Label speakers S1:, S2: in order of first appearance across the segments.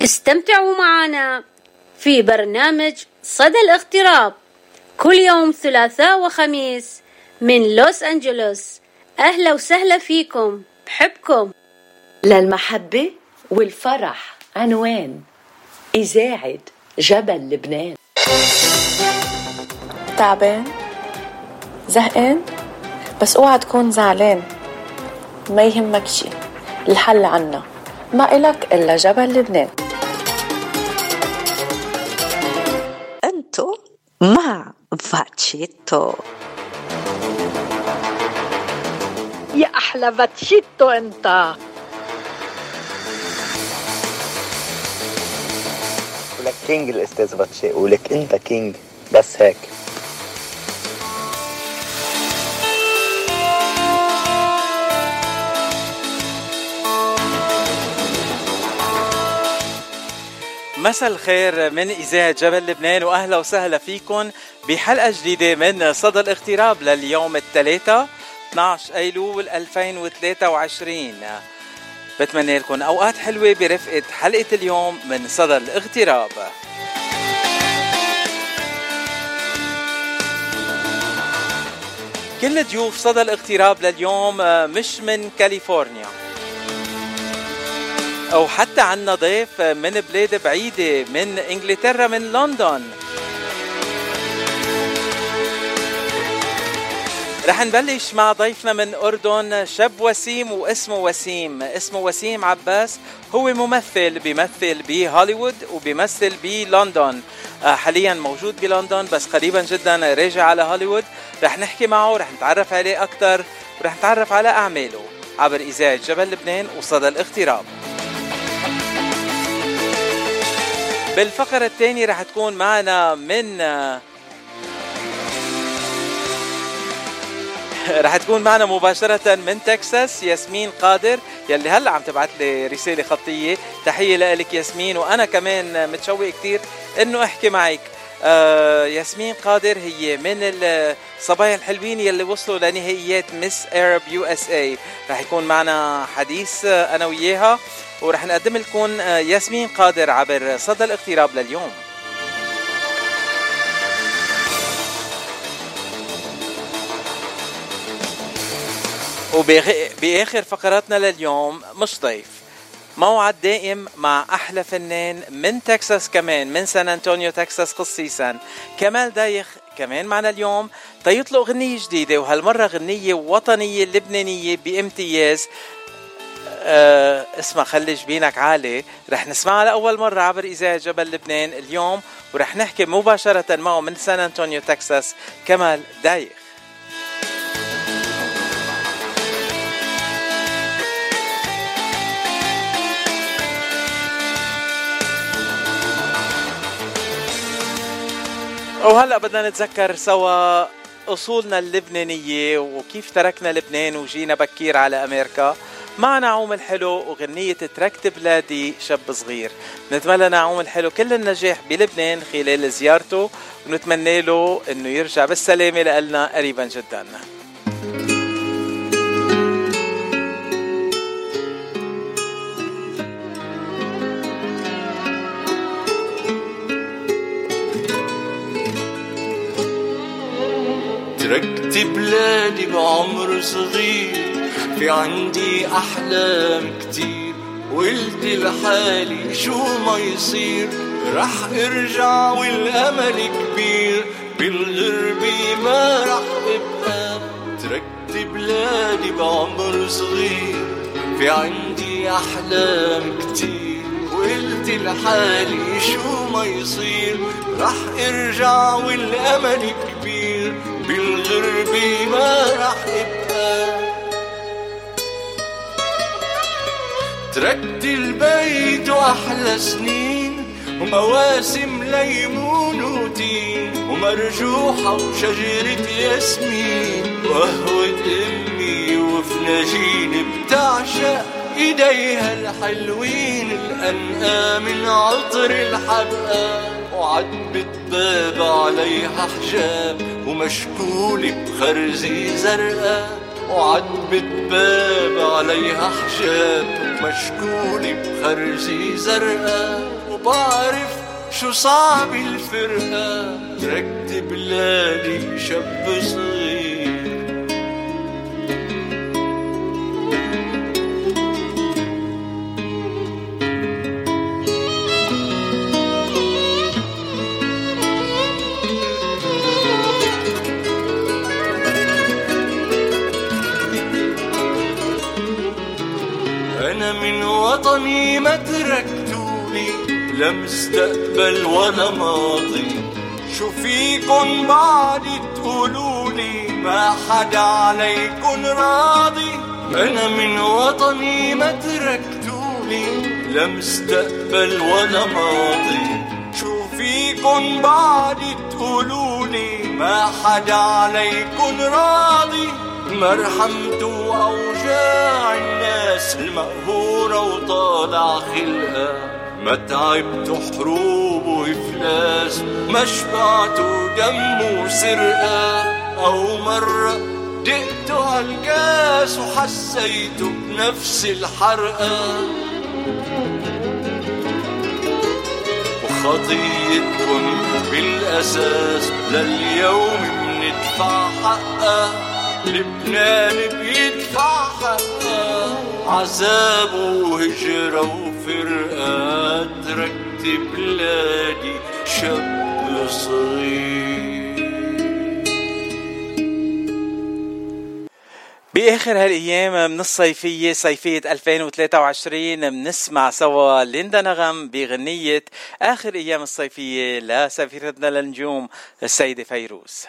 S1: استمتعوا معنا في برنامج صدى الاغتراب كل يوم ثلاثاء وخميس من لوس أنجلوس. أهلا وسهلا فيكم، بحبكم.
S2: للمحبة والفرح عنوان إذاعة جبل لبنان.
S3: تعبان؟ زهقان؟ بس اوعى تكون زعلان، ما يهمك شي، الحل عنا، ما إلك إلا جبل لبنان.
S4: أنتو مع فاتشيتو.
S5: يا أحلى فاتشيتو أنت.
S6: ولك كينج الأستاذ باتشي، ولك أنت كينج، بس هيك.
S7: مساء الخير من إذاعة جبل لبنان، وأهلا وسهلا فيكم بحلقة جديدة من صدى الاغتراب لليوم الثلاثاء 12 أيلول 2023. بتمنى لكم أوقات حلوة برفقة حلقة اليوم من صدى الاغتراب. كل ضيوف صدى الاغتراب لليوم مش من كاليفورنيا، أو حتى عنا ضيف من بلاد بعيدة، من إنجلترا، من لندن. رح نبلش مع ضيفنا من أردن، شاب وسيم واسمه وسيم، اسمه وسيم عباس. هو ممثل، بيمثل بهوليوود وبيمثل بلندن. حاليا موجود بلندن بس قريبا جدا راجع على هوليوود. رح نحكي معه، رح نتعرف عليه أكتر، ورح نتعرف على أعماله عبر إذاعة جبل لبنان وصدى الاغتراب. بالفقرة الثانية رح تكون معنا مباشرة من تكساس ياسمين قادر، يلي هلأ عم تبعت لي رسالة خطية. تحية لك ياسمين، وأنا كمان متشوق كتير إنه أحكي معك. ياسمين قادر هي من الصبايا الحلوين يلي وصلوا لنهائيات مس أرب USA. رح يكون معنا حديث أنا وياها، ورح نقدم لكم ياسمين قادر عبر صدى الاغتراب لليوم. وبآخر فقراتنا لليوم مش ضيف، موعد دائم مع أحلى فنان من تكساس، كمان من سان أنطونيو تكساس خصيصا، كمال دايخ كمان معنا اليوم تيطلق غنية جديدة، وهالمرة غنية وطنية لبنانية بامتياز. اسمها خلي جبينك عالي. رح نسمعها لأول مرة عبر إذاعة جبل لبنان اليوم، ورح نحكي مباشرة معه من سان أنطونيو تكساس، كمال دايخ. وهلأ بدنا نتذكر سوا أصولنا اللبنانية وكيف تركنا لبنان وجينا بكير على أمريكا مع نعوم الحلو وغنية تركت بلادي شاب صغير. نتمنى نعوم الحلو كل النجاح بلبنان خلال زيارته، ونتمنى له أنه يرجع بالسلامة لنا قريبا جدا.
S8: تركت بلادي بعمر صغير، في عندي أحلام كتير، وقلت لحالي شو ما يصير رح ارجع والأمل كبير، بالغربة ما رح ابقى. تركت بلادي بعمر صغير، في عندي أحلام كتير، وقلت لحالي شو ما يصير رح ارجع والأمل كبير، بالغربة ما رح ابقى. تركت البيت وأحلى سنين، ومواسم ليمون وتين، ومرجوحة وشجرة ياسمين، وقهوة أمي وفناجين بتعشق إيديها الحلوين، الأنقى من عطر الحبقى، وعتبة باب عليها حجاب ومشكولة بخرزي زرقاء، وعتبة باب عليها حجاب مشكولة بخرزي زرقاء وبعرف شو صعب الفرقة. تركت بلادي شاب صغير أنا من وطني ما تركتولي لا مستقبل ولا ماضي. شو فيكن بعد تقولولي ما حدا عليكن راضي. أنا من وطني ما تركتولي لا مستقبل ولا ماضي. شو فيكن بعد تقولولي ما حدا عليكن راضي. ما رحمتوا أوجاع الناس المقهورة وطالع خلقها. ما تعبتوا حروب وإفلاس ما شبعتوا دم وسرقة. أو مرة دقتوا هالكاس وحسيتوا بنفس الحرقة. وخطيتكن بالأساس لليوم بندفع حقها. لبنان بيدفع حقها. عذاب وهجرة وفرقة. تركت بلادي شاب صغير.
S7: بآخر هالأيام من الصيفية صيفية 2023 بنسمع سوا ليندا نغم بغنية آخر أيام الصيفية لسفيرتنا للنجوم السيدة فيروز.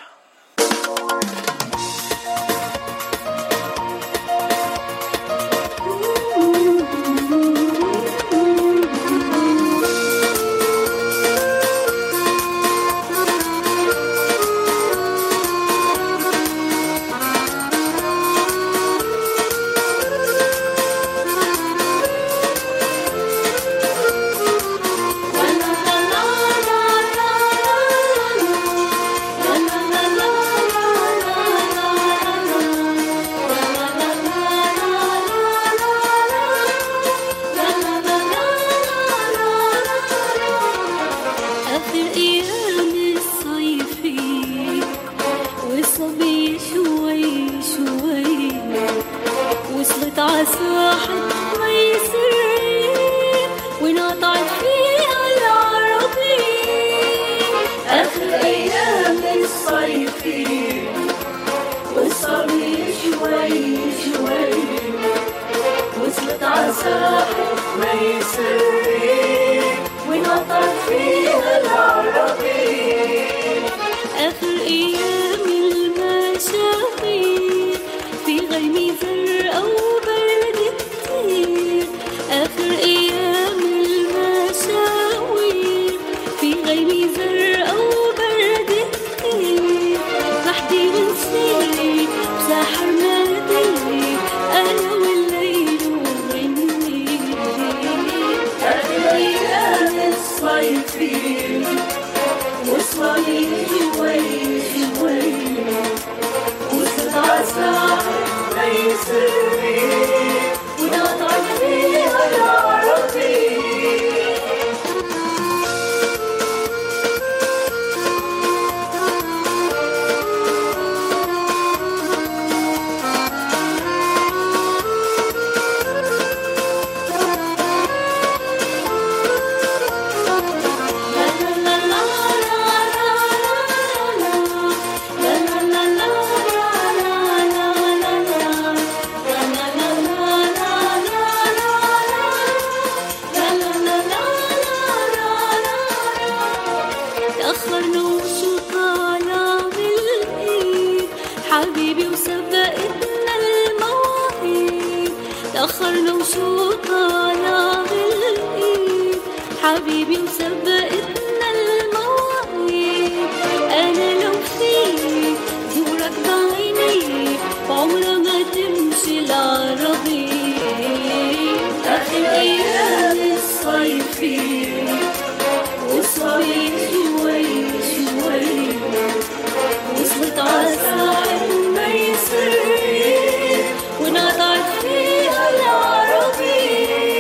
S9: ونقطعت فيها العربي.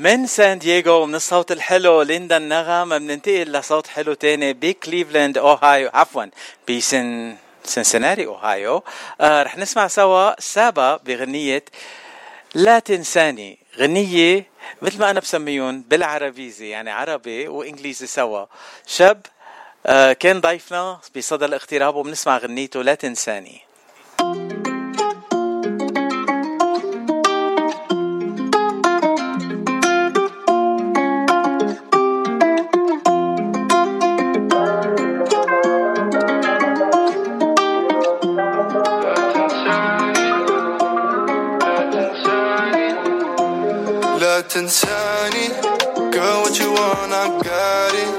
S7: من سان دييغو من الصوت الحلو ليندا النغم بننتقل لصوت حلو تاني بكليفلاند أوهايو، عفوا سنسناري أوهايو. رح نسمع سوا سابا بغنية لا تنساني، غنية مثل ما أنا بسميون بالعربيزي، يعني عربي وإنجليزي سوا. شاب كان ضيفنا بصدى الاغتراب وبنسمع غنيته لا تنساني.
S9: تنساني girl what you want I got it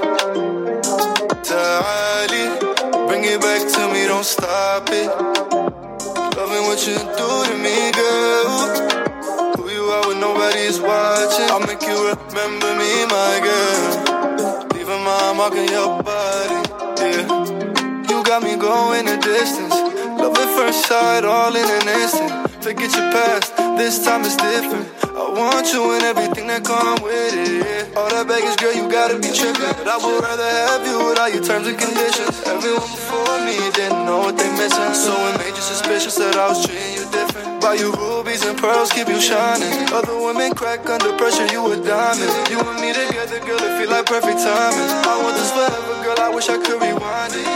S9: تعالي bring it back to me don't stop it loving what you do to me girl who you are when nobody's watching I'll make you remember me my girl leaving my mark on your body yeah you got me going a distance love at first sight all in an instant forget your past this time is different I want you and everything that come with it, yeah. All that baggage, girl, you gotta be trippin'. But I would rather have you without your terms and conditions. Everyone before me didn't know what they missing. So it made you suspicious that I was treating you different. Buy you rubies and pearls, keep you shining. Other women crack under pressure, you a diamond. You and me together, girl, it feel like perfect timing. I want this forever, girl, I wish I could rewind it.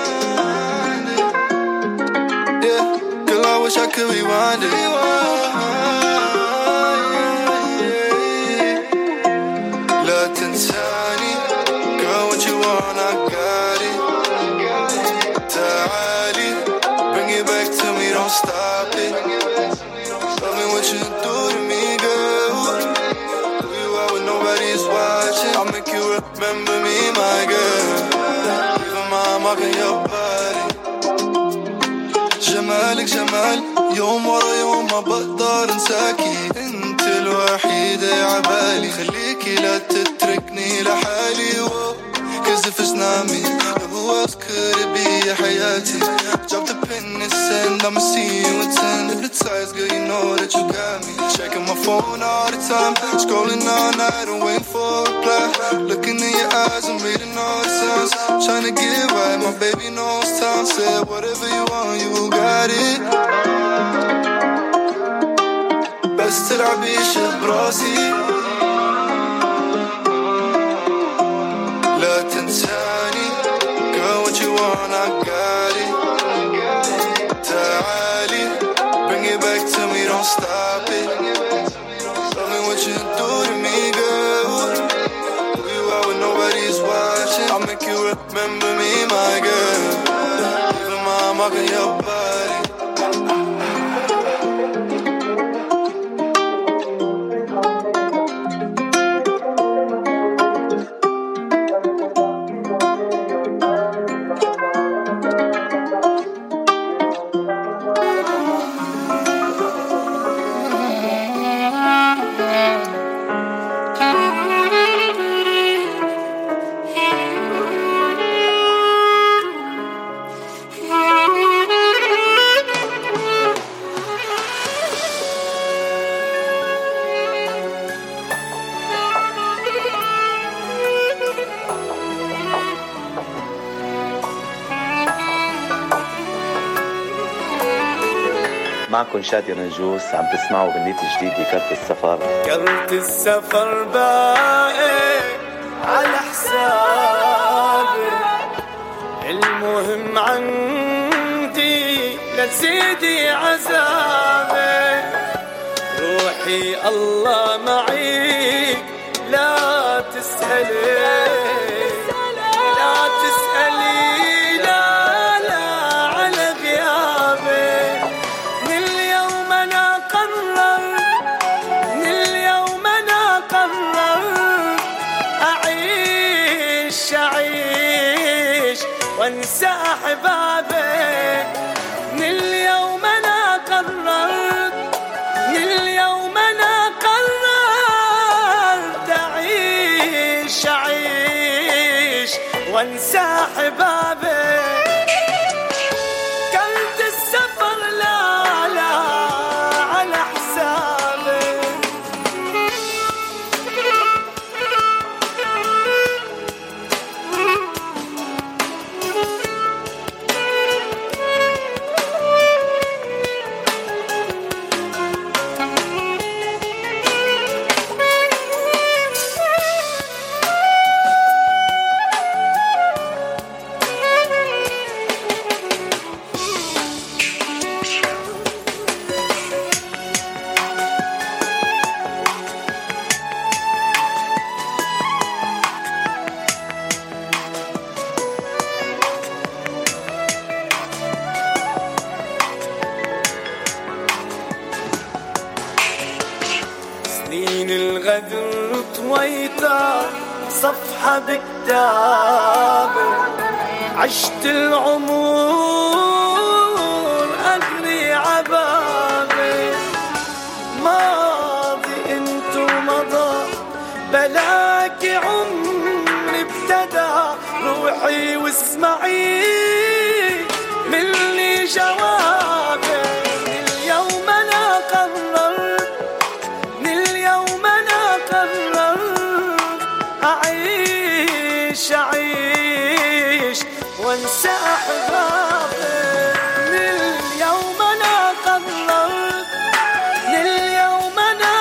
S9: Yeah, girl, I wish I could rewind it. تنساني girl what you want I got it تعالي bring it back to me don't stop it loving what you do to me girl who you are when nobody's watching I'll make you remember me my girl leaving my mark on your body جمالك جمال يوم ورا يوم ما بقدر انساكي انت الوحيدة عبالي خليكي لا تتركني لحالي cause if it's not me who else could it be يا حياتي drop the pin and send I'ma see you in 10 hypnotized girl you know that you got me checking my phone all the time scrolling all night and waiting for a reply looking in your eyes and reading all the signs trying to get right my baby knows time said whatever you want you got it بس تلعبيش براسي لا تنساني girl what you want I got it تعالي bring it back to me don't stop it loving what you do to me girl who you are when nobody's watching I'll make you remember me my girl leaving my mark on your body
S6: معكم شادي نجوس عم تسمعوا غنيتي جديدة كرت السفر.
S8: كرت السفر باقي على حسابي المهم عندي لا تزيدي عذابي روحي الله معيك لا تسألي وانسى احبابي من اليوم انا قررت اعيش وانسى احبابي كرت السفر لا على حسابي سنين الغدر طويتها صفحة بكتابي، عشت العمر أجري عبابي، ماضي انت ومضى بلاك عمري ابتدى، روحي واسمعي مني جوابي. اليوم انا قررت، من اليوم انا قررت اعيش وانسى احبابي. من اليوم انا قررت، من اليوم انا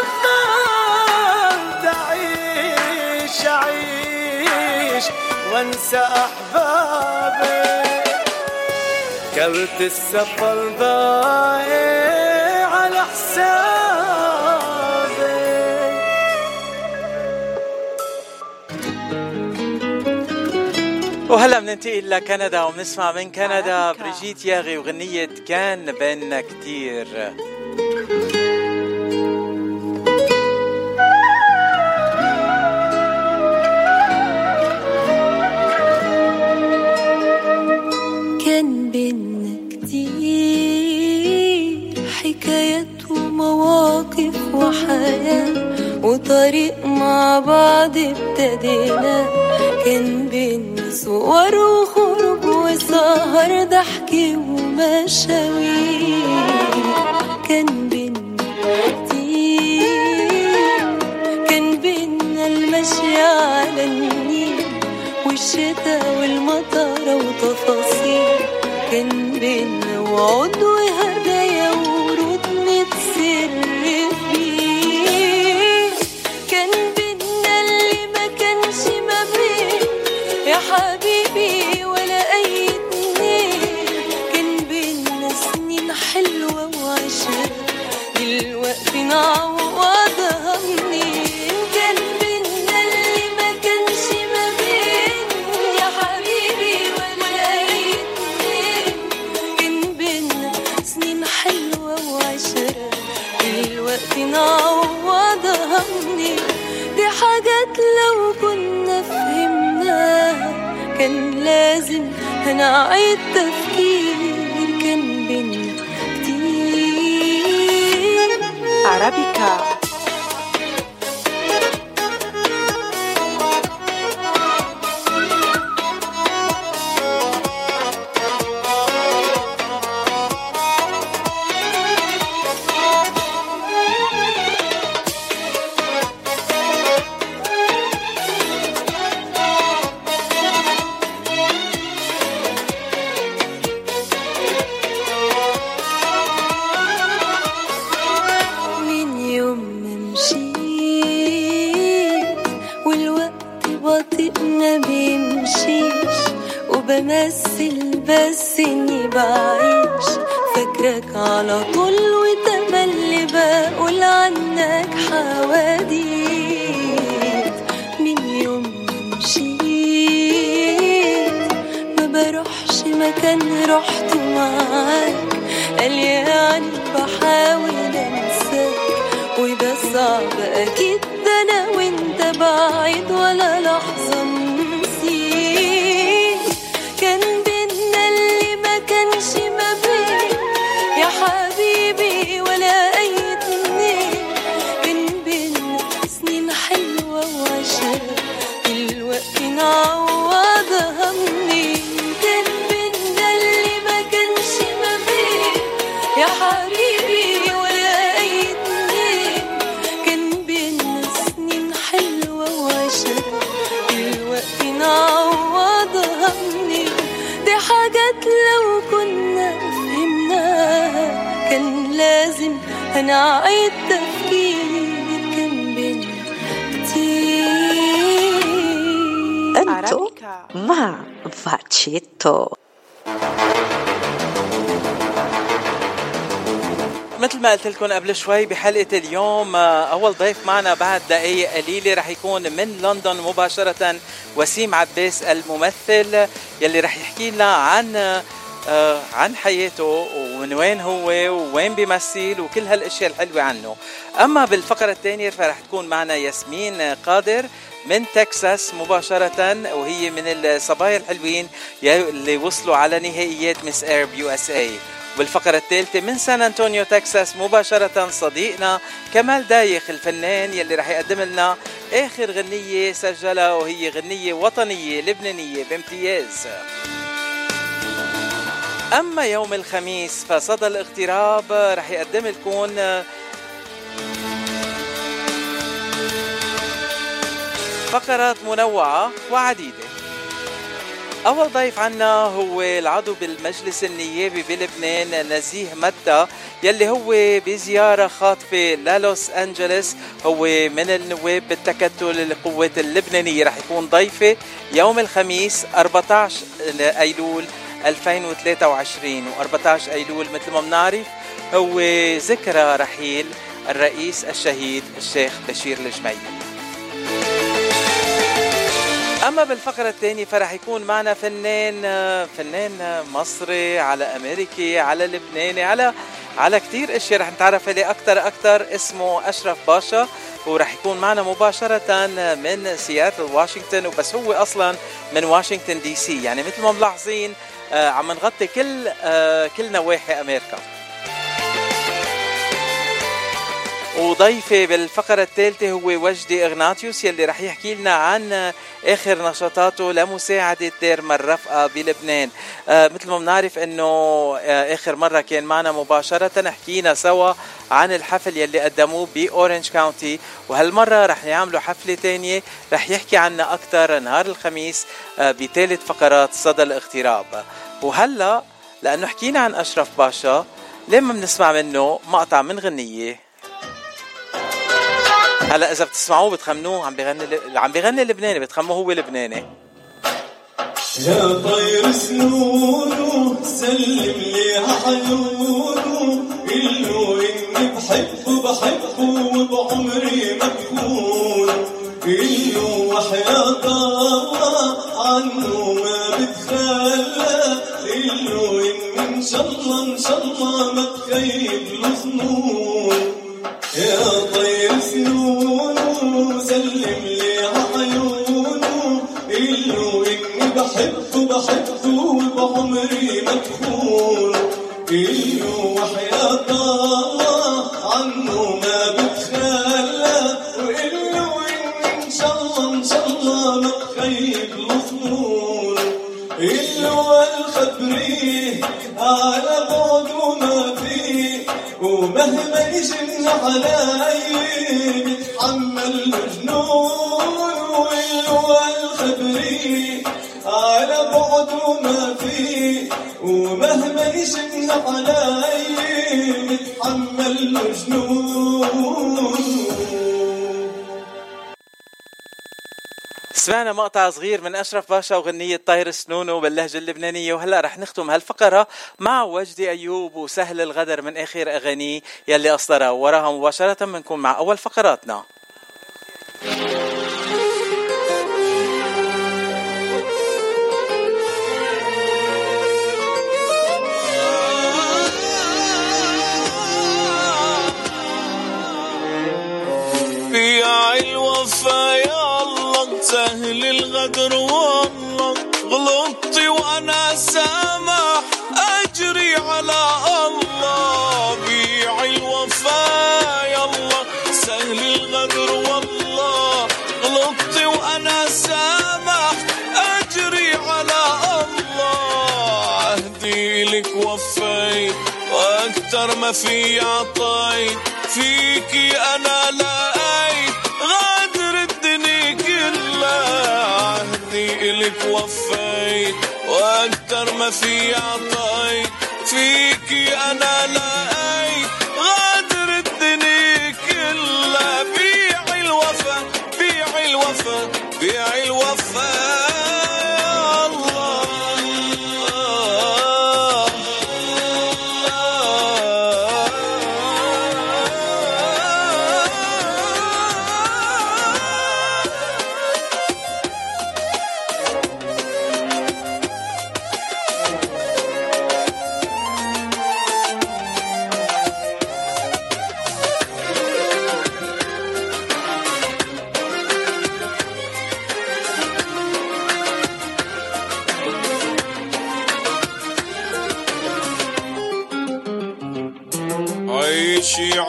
S8: قررت اعيش وانسى احبابي. كرت السفر ضايع على حسابي.
S7: وهلا بننتقل لكندا وبنسمع من كندا بريجيت ياغي وغنية كان بيننا كتير.
S10: كان بيننا كتير حكايات ومواقف وحياة وطريق مع بعض ابتدينا. كان بيننا صور وخروج وسهر ضحك ومشاوير. كان بيننا كتير، كان بيننا المشي على النيل والشتاء والمطر وتفاصيل. كان بيننا وعود وهدايا ورود نتسر فيه. كان بيننا اللي ما كانش ما بين يا حبيبي ولا أي اتنين. كان بيننا سنين حلوة وعشرة دلوقتي نعوضها منين. كان بيننا اللي ما كانش ما بين يا حبيبي ولا أي اتنين. كان بيننا سنين حلوة وعشرة دلوقتي نعوضها منين. دي حاجات لو كنا فهمناها كان لازم هنعيد تفكير. كان بينا كتير
S3: عربيكا.
S10: بمثل بس اني بعيش فاكرك على طول وتملي بقول عنك حواديت. من يوم ما مشيت ما بروحش مكان رحت معاك. قال يعني بحاول انساك وده صعب اكيد، ده انا وانت بعيد ولا لحظة نسيت. كان بينا اللي ما كانش ما بين يا حبيبي ولا أي اتنين. كان بينا سنين حلوة وعشرة دلوقتي نعوضها منين. كان بينا اللي ما كانش ما بين يا حبيبي ولا أي اتنين. كان بينا سنين حلوة وعشرة دلوقتي نعوضها منين. دي حاجات لو كنا فهمناها كان لازم هنعيد تفكير. كان بينا كتير.
S4: أنتو مع فاتشيتو.
S7: مثل ما قلت لكم قبل شوي بحلقة اليوم، أول ضيف معنا بعد دقايق قليلة رح يكون من لندن مباشرة وسيم عباس الممثل، يلي رح يحكي لنا عن عن حياته ومن وين هو ووين بيمثل وكل هالاشياء الحلوة عنه. اما بالفقرة الثانية فرح تكون معنا ياسمين قادر من تكساس مباشرة، وهي من الصبايا الحلوين اللي وصلوا على نهائيات مس ايرب USA. بالفقرة الثالثة من سان أنطونيو تكساس مباشرة صديقنا كمال دايخ الفنان يلي رح يقدم لنا آخر غنية سجلها، وهي غنية وطنية لبنانية بامتياز. أما يوم الخميس فصدى الاغتراب رح يقدم لكم فقرات منوعة وعديدة. أول ضيف عنا هو العضو بالمجلس النيابي بلبنان نزيه متى، يلي هو بزيارة خاطفة للوس أنجلس، هو من النواب بالتكتل القوات اللبنانية. رح يكون ضيفة يوم الخميس 14 أيلول 2023، و14 أيلول مثل ما بنعرف هو ذكرى رحيل الرئيس الشهيد الشيخ بشير الجميل. أما بالفقرة الثانية فرح يكون معنا فنان مصري على أمريكي على لبناني على كتير اشياء رح نتعرف عليه أكتر. اسمه أشرف باشا، ورح يكون معنا مباشرة من سياتل واشنطن، وبس هو أصلا من واشنطن دي سي، يعني مثل ما ملاحظين عم نغطي كل نواحي أمريكا. وضيفي بالفقرة الثالثة هو وجدي إغناطيوس، يلي رح يحكي لنا عن آخر نشاطاته لمساعدة دير الرفقة بلبنان. مثل ما بنعرف انه آخر مرة كان معنا مباشرة، حكينا سوا عن الحفل يلي قدموه بأورنج كاونتي، وهالمرة رح يعملوا حفلة تانية رح يحكي عنا أكتر نهار الخميس بثالث فقرات صدى الاغتراب. وهلأ لأنه حكينا عن أشرف باشا لما بنسمع منه مقطع من غنية. هلا اذا بتسمعوه بتخمنوه عم بيغني لبناني، بتخمنوه هو لبناني.
S8: يا طير سنونه سلم لي عيونه، قله اني بحبه وبعمري مكفون، قله وحياة الله عنه ما بتخلى، قله اني ان شاء الله ما تخيب له ظنون. يا طير سنونه سلم لي عيونه، قله اني بحبه وبعمري مكفون، قله وحياة الله عنه ما بتخلى، وقله اني ان شاء الله ما تخيب له ظنون. قله والخبريه على بعده ما فيه، ومهما يجن علي بتحمل جنون، وقله الخبري على بعده ما فيه، ومهما يجن علي بتحمل جنون.
S7: سمعنا مقطع صغير من أشرف باشا وغنية طاير سنونه باللهجة اللبنانية، وهلأ رح نختم هالفقرة مع وجدي أيوب وسهل الغدر من آخر أغانيه يلي أصدرها، وراها مباشرة منكم مع أول فقراتنا.
S8: يا الوفا يا الله سهل الغدر والله، غلطتي وانا سامح اجري على الله. بيع الوفا يا الله سهل الغدر والله، غلطتي وانا سامح اجري على الله. اهدي لك وفيت واكتر ما في عطيت، فيكي انا لقيت غادر الدنيا كلها. عهدي إلك وفيت واكتر ما في عطيت، فيكي انا لقيت غادر الدنيا كلها. بيع الوفا بيع الوفا بيع الوفا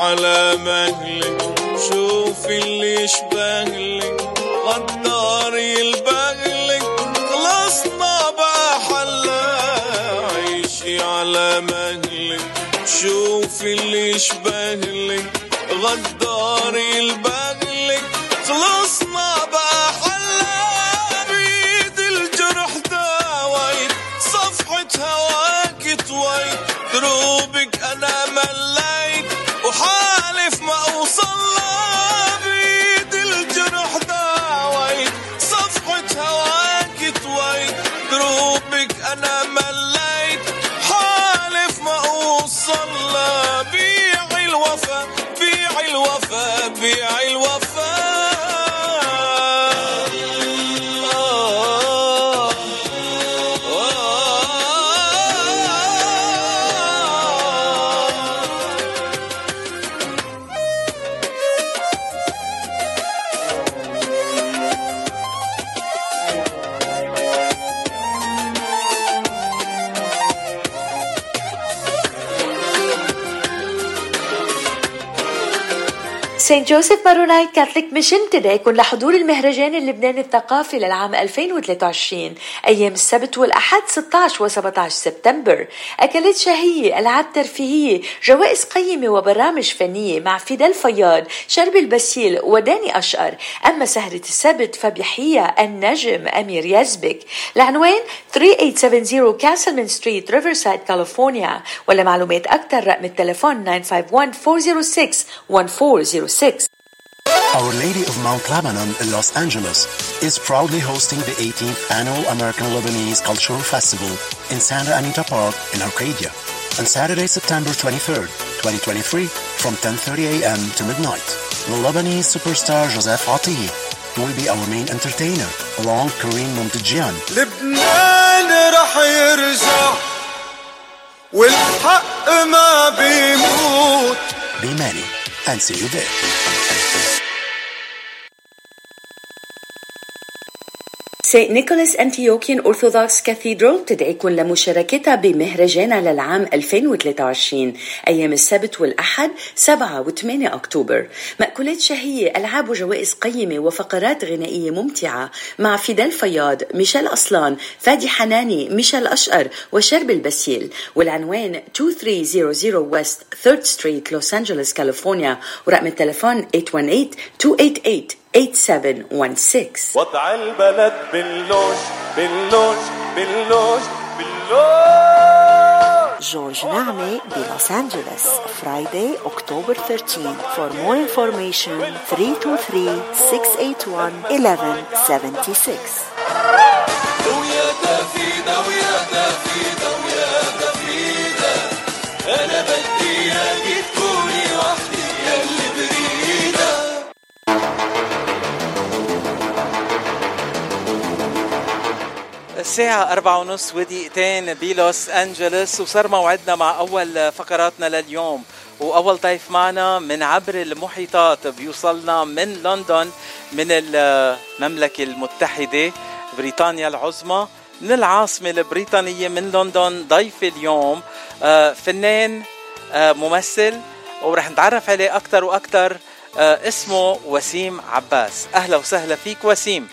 S8: على مهلك شوفي اللي يشبهلك غدار يلبهلك خلصنا بقى حلا عيشي على مهلك شوفي اللي يشبهلك غدار يلبهلك خلصنا بقى حلا بيد الجرح داويت صفحة هواك طويت دروبك أنا مليت وحالف ما أوصلها بيد الجرح داويت صفحة هواك طويت دروبك أنا مليت حالف ما أوصلها بيعي الوفا بيعي الوفا بيعي الوفا
S2: سانت جوزيف مارونايت كاثوليك ميشن تدعيكم لحضور المهرجان اللبناني الثقافي للعام 2023 أيام السبت والأحد 16 و17 سبتمبر. أكلات شهية، ألعاب ترفيهية، جوائز قيمة وبرامج فنية مع فيدال فياض، شرب البسيل وداني أشقر. أما سهرة السبت فبيحييها النجم أمير يزبك. العنوان 3870 كاسلمان ستريت ريفرسايد كاليفورنيا، ولا معلومات أكثر رقم التليفون 951-406-1406.
S11: Our Lady of Mount Lebanon in Los Angeles is proudly hosting the 18th Annual American Lebanese Cultural Festival in Santa Anita Park in Arcadia on Saturday, September 23rd, 2023 from 10:30 a.m. to midnight. The Lebanese superstar Joseph Atiye will be our main entertainer along Kareem Momtadjian.
S9: لبنان رح يرجع والحق ما بيموت.
S11: Be many and see you there.
S2: سينت نيكولاس أنتيوكيان أرثوذكس كاثيدرال تدعيكم لمشاركتها بمهرجانها للعام 2023 أيام السبت والأحد 7 و8 أكتوبر. مأكولات شهية، ألعاب وجوائز قيمة وفقرات غنائية ممتعة مع فيدال فياض، ميشيل أصلان، فادي حناني، ميشيل أشقر وشرب البسيل. والعنوان 2300 ويست 3rd ستريت لوس أنجلوس كاليفورنيا، ورقم التليفون 818-288-8716.
S8: وضع البلد باللوج باللوج باللوج باللوج.
S4: جورج نعمة بلوس أنجلوس Friday, October 13. For more information 323-681-1176.
S8: ويا دافيدة ويا دافيدة ويا دافيدة أنا بدي إياكي تكوني وحدي ياللي بريدة.
S7: الساعة 4:30 بلوس أنجلوس، وصار موعدنا مع أول فقراتنا لليوم. وأول ضيف معنا من عبر المحيطات بيوصلنا من لندن، من المملكة المتحدة بريطانيا العظمى، من العاصمة البريطانية من لندن. ضيف اليوم فنان ممثل، ورح نتعرف عليه أكتر وأكتر. اسمه وسيم عباس. أهلا وسهلا فيك وسيم.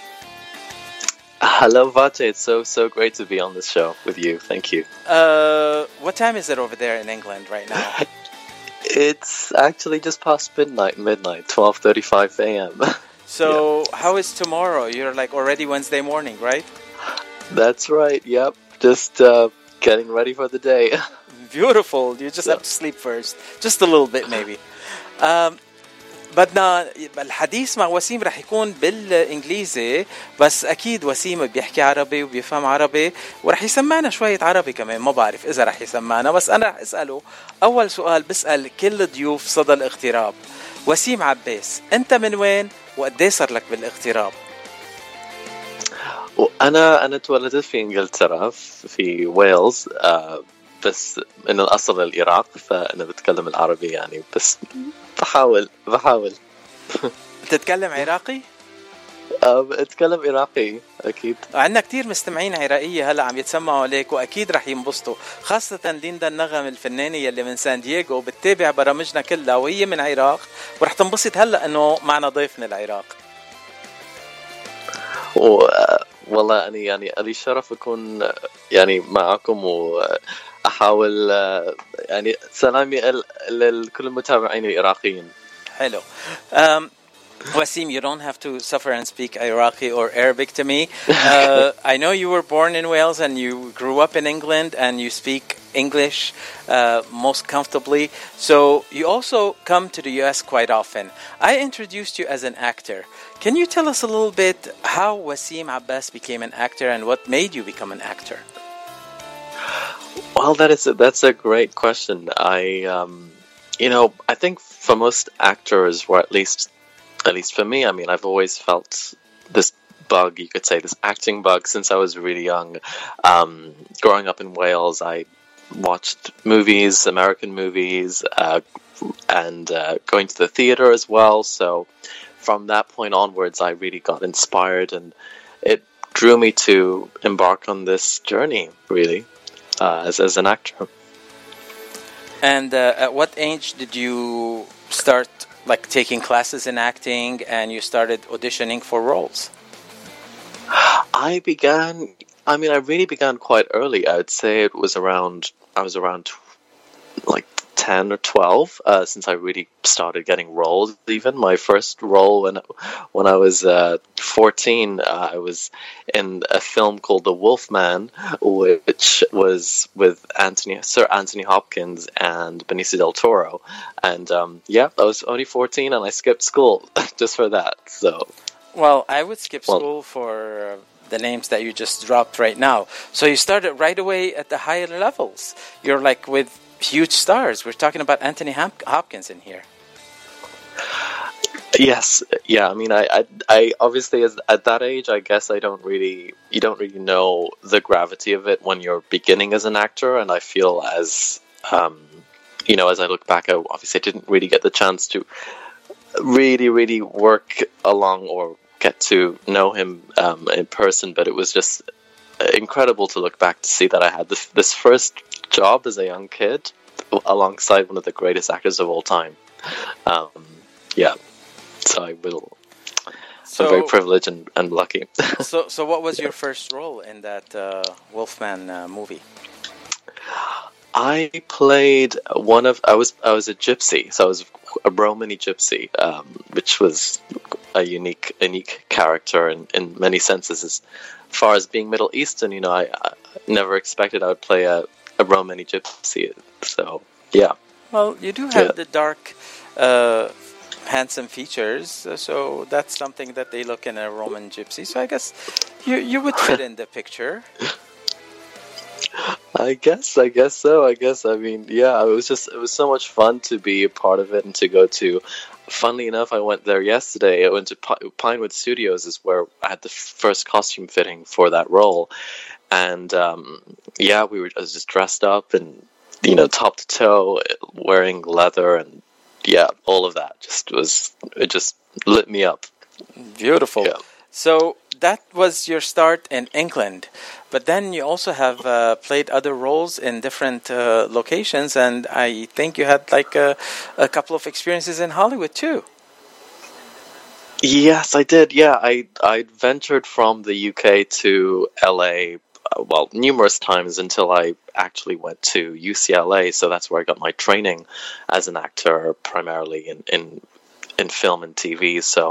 S12: Hello, Vache. It's so great to be on this show with you. Thank you.
S7: What time is it over there in England right now?
S12: It's actually just past midnight, 12:35 a.m.
S7: So how is tomorrow? You're like already Wednesday morning, right?
S12: That's right. Yep. Just getting ready for the day.
S7: Beautiful. You just have to sleep first. Just a little bit maybe. بدنا الحديث مع وسيم رح يكون بالإنجليزي، بس أكيد وسيم بيحكي عربي وبيفهم عربي، ورح يسمعنا شوية عربي كمان. ما بعرف إذا رح يسمعنا، بس أنا رح أسأله أول سؤال بسأل كل ضيوف صدى الاغتراب. وسيم عباس، أنت من وين وقديه صار لك بالاغتراب؟
S12: أنا تولدت في إنجلترا في ويلز، بس من الأصل العراق، فأنا بتكلم العربي يعني، بس بحاول.
S7: تتكلم عراقي؟
S12: اتكلم عراقي اكيد.
S7: عندنا كتير مستمعين عراقية هلا عم يتسمعوا عليك، واكيد رح ينبسطوا، خاصة ليندا النغم الفنانة يلي من سان دييغو بتتابع برامجنا كلها وهي من العراق، ورح تنبسط هلا انه معنا ضيف من العراق.
S12: والله أنا يعني لي شرف أكون يعني معكم، وأحاول يعني سلامي لكل المتابعين العراقيين.
S7: حلو. Wasim, you don't have to suffer and speak Iraqi or Arabic to me. I know you were born in Wales and you grew up in England and you speak English most comfortably. So you also come to the US quite often. I introduced you as an actor. Can you tell us a little bit how Wasim Abbas became an actor and what made you become an actor?
S12: Well, that's a great question. I think for most actors, or at least for me, I mean, I've always felt this bug, you could say, this acting bug since I was really young. Growing up in Wales, I watched movies, American movies, and going to the theater as well. So from that point onwards, I really got inspired, and it drew me to embark on this journey, really, as an actor.
S7: And at what age did you start taking classes in acting and you started auditioning for roles?
S12: I really began quite early. I would say I was around 10 or 12 since I really started getting roles. Even my first role when I was 14, I was in a film called The Wolfman, which was with Sir Anthony Hopkins and Benicio del Toro. And I was only 14 and I skipped school just for that. So,
S7: well, I would skip school for the names that you just dropped right now. So you started right away at the higher levels. You're with huge stars. We're talking about Anthony Hopkins in here.
S12: Yes, yeah. I mean, I obviously at that age, I guess you don't really know the gravity of it when you're beginning as an actor. And I feel as I look back, I obviously didn't really get the chance to really work along or get to know him in person. But it was just incredible to look back to see that I had this first job as a young kid alongside one of the greatest actors of all time. So I'm very privileged and lucky.
S7: So what was your first role in that Wolfman movie?
S12: I played I was a gypsy, so I was a Romani gypsy, which was a unique character in many senses. As far as being Middle Eastern, I never expected I would play a Romani gypsy. So yeah.
S7: Well, you do have the dark, handsome features, so that's something that they look in a Roman gypsy. So I guess you would fit in the picture.
S12: I guess so. I mean, yeah, it was so much fun to be a part of it and to go to. Funnily enough, I went there yesterday. I went to Pinewood Studios, is where I had the first costume fitting for that role, and I was just dressed up and top to toe, wearing leather, and all of that it just lit me up.
S7: Beautiful. Yeah. So that was your start in England, but then you also have played other roles in different locations, and I think you had a couple of experiences in Hollywood too.
S12: Yes, I did. Yeah, I ventured from the UK to LA, numerous times until I actually went to UCLA. So that's where I got my training as an actor, primarily in film and TV. So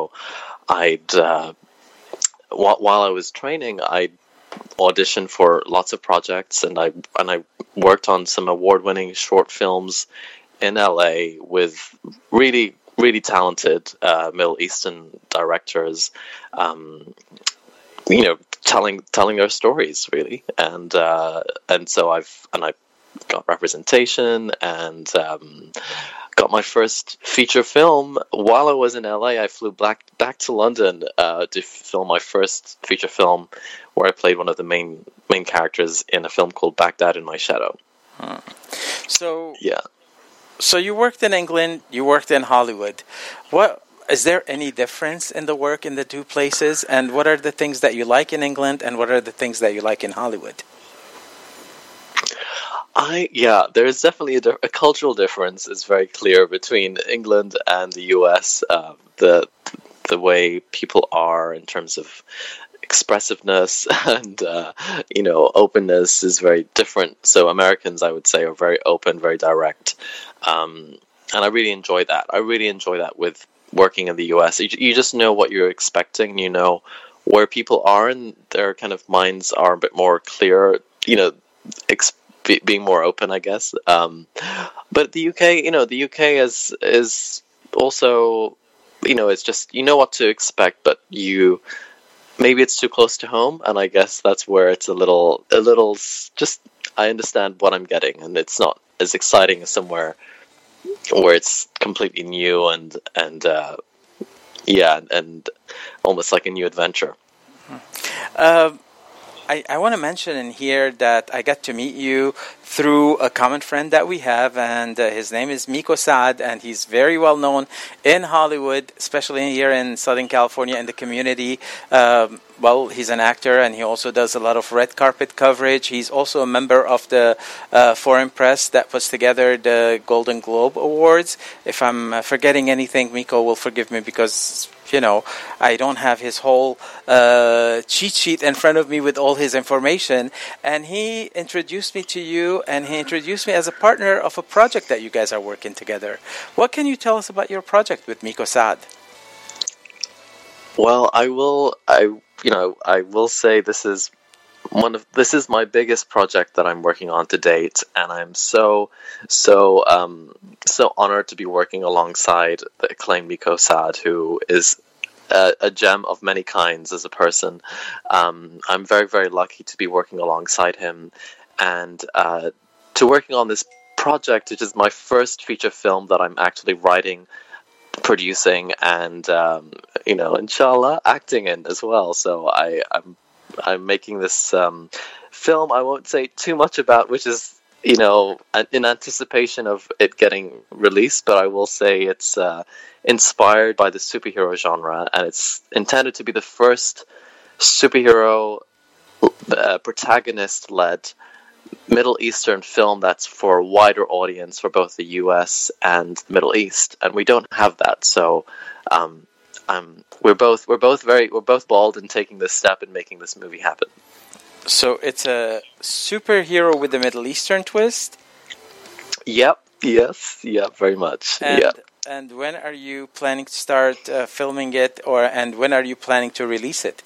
S12: while I was training, I auditioned for lots of projects, and I worked on some award-winning short films in LA with really talented Middle Eastern directors, telling their stories really, and so I got representation and got my first feature film. While I was in LA, I flew back to London to film my first feature film, where I played one of the main characters in a film called Baghdad in My Shadow.
S7: So you worked in England, you worked in Hollywood. Is there any difference in the work in the two places? And what are the things that you like in England, and what are the things that you like in Hollywood?
S12: There is definitely a cultural difference. Is very clear between England and the U.S. The way people are in terms of expressiveness and openness is very different. So Americans, I would say, are very open, very direct, and I really enjoy that. I really enjoy that with working in the U.S. You just know what you're expecting. You know where people are, and their kind of minds are a bit more clear. Being more open, I guess. But the UK, the UK is also, it's just, what to expect, but maybe it's too close to home, and I guess that's where it's a little just, I understand what I'm getting, and it's not as exciting as somewhere where it's completely new and almost like a new adventure.
S7: I want to mention in here that I got to meet you through a common friend that we have, and his name is Miko Saad, and he's very well known in Hollywood, especially here in Southern California in the community. He's an actor, and he also does a lot of red carpet coverage. He's also a member of the Foreign Press that puts together the Golden Globe Awards. If I'm forgetting anything, Miko will forgive me because I don't have his whole cheat sheet in front of me with all his information. And he introduced me to you, and he introduced me as a partner of a project that you guys are working together. What can you tell us about your project with Miko Saad?
S12: Well, I will say this is my biggest project that I'm working on to date, and I'm so honored to be working alongside the acclaimed Miko Saad, who is a gem of many kinds as a person. I'm very, very lucky to be working alongside him, and to working on this project, which is my first feature film that I'm actually writing, producing, and inshallah acting in as well. So I'm making this film I won't say too much about, which is in anticipation of it getting released, but I will say it's inspired by the superhero genre, and it's intended to be the first superhero protagonist-led Middle Eastern film that's for a wider audience for both the US and Middle East, and we don't have that. So we're both bold in taking this step and making this movie happen.
S7: So it's a superhero with a Middle Eastern twist?
S12: Yep. Yes. Yep. Very much.
S7: And when are you planning to start filming it, and when are you planning to release it?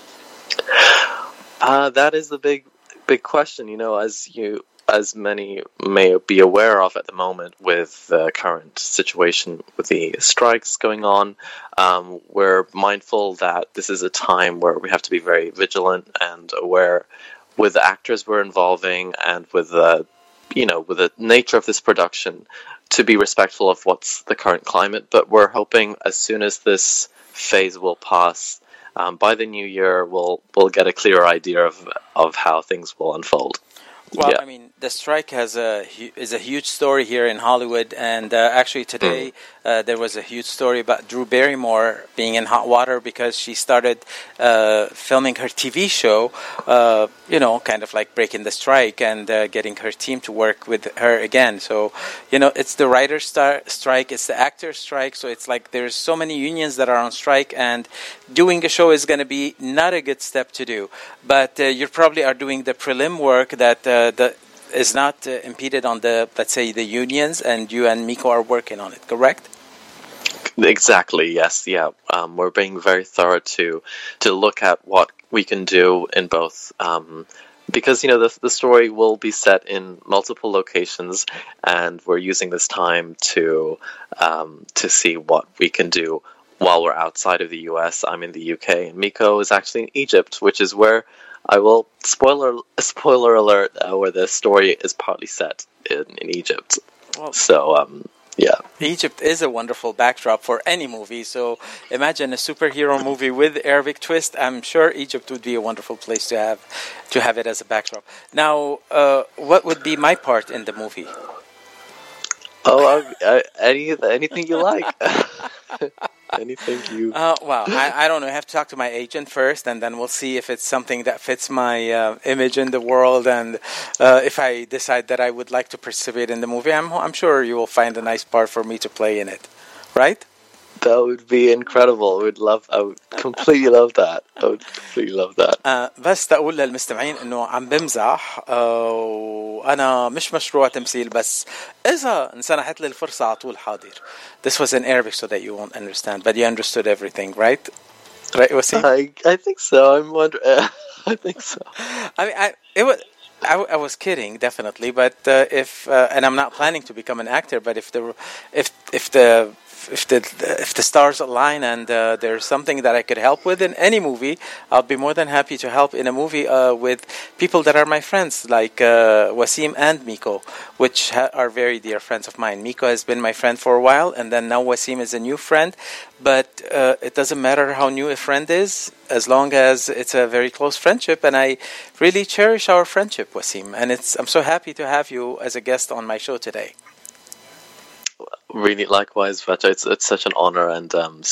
S12: That is the big question. As many may be aware of at the moment, with the current situation with the strikes going on, we're mindful that this is a time where we have to be very vigilant and aware with the actors we're involving, and with the nature of this production, to be respectful of what's the current climate. But we're hoping as soon as this phase will pass, by the new year, we'll get a clearer idea of how things will unfold.
S7: Well, yeah. I mean, the strike is a huge story here in Hollywood, and actually today there was a huge story about Drew Barrymore being in hot water because she started filming her TV show, kind of like breaking the strike and getting her team to work with her again. So, it's the writer's strike, it's the actor's strike, so it's like there's so many unions that are on strike, and doing a show is going to be not a good step to do. But you probably are doing the prelim work that is not impeded on let's say, the unions, and you and Miko are working on it, correct?
S12: Exactly, yes, yeah. We're being very thorough to look at what we can do in both, because, the story will be set in multiple locations, and we're using this time to see what we can do while we're outside of the US. I'm in the UK, and Miko is actually in Egypt, which is where I will spoiler alert, where the story is partly set in Egypt.
S7: Well,
S12: so yeah,
S7: Egypt is a wonderful backdrop for any movie. So imagine a superhero movie with Arabic twist. I'm sure Egypt would be a wonderful place to have it as a backdrop. Now, what would be my part in the movie?
S12: Oh, anything you like. Anything you...
S7: Well, I don't know. I have to talk to my agent first, and then we'll see if it's something that fits my image in the world, and if I decide that I would like to participate in the movie, I'm sure you will find a nice part for me to play in it, right?
S12: That would be incredible. I would completely love that. I would completely love that.
S7: بس تقول للمستمعين انه عم بمزح وانا مش مشروع تمثيل بس اذا انسنحت لي الفرصة على طول حاضر. This was in Arabic so that you won't understand, but you understood everything, right? Right, Wasim?
S12: I think so. I'm wondering. I think so.
S7: I mean, I was kidding, definitely, but if and I'm not planning to become an actor, but if the stars align and there's something that I could help with in any movie, I'll be more than happy to help in a movie with people that are my friends, like Wasim and Miko, which are very dear friends of mine. Miko has been my friend for a while, and then now Wasim is a new friend. But it doesn't matter how new a friend is, as long as it's a very close friendship, and I really cherish our friendship, Wasim. And I'm so happy to have you as a guest on my show today.
S12: Really, likewise, Vacha. It's such an honor, and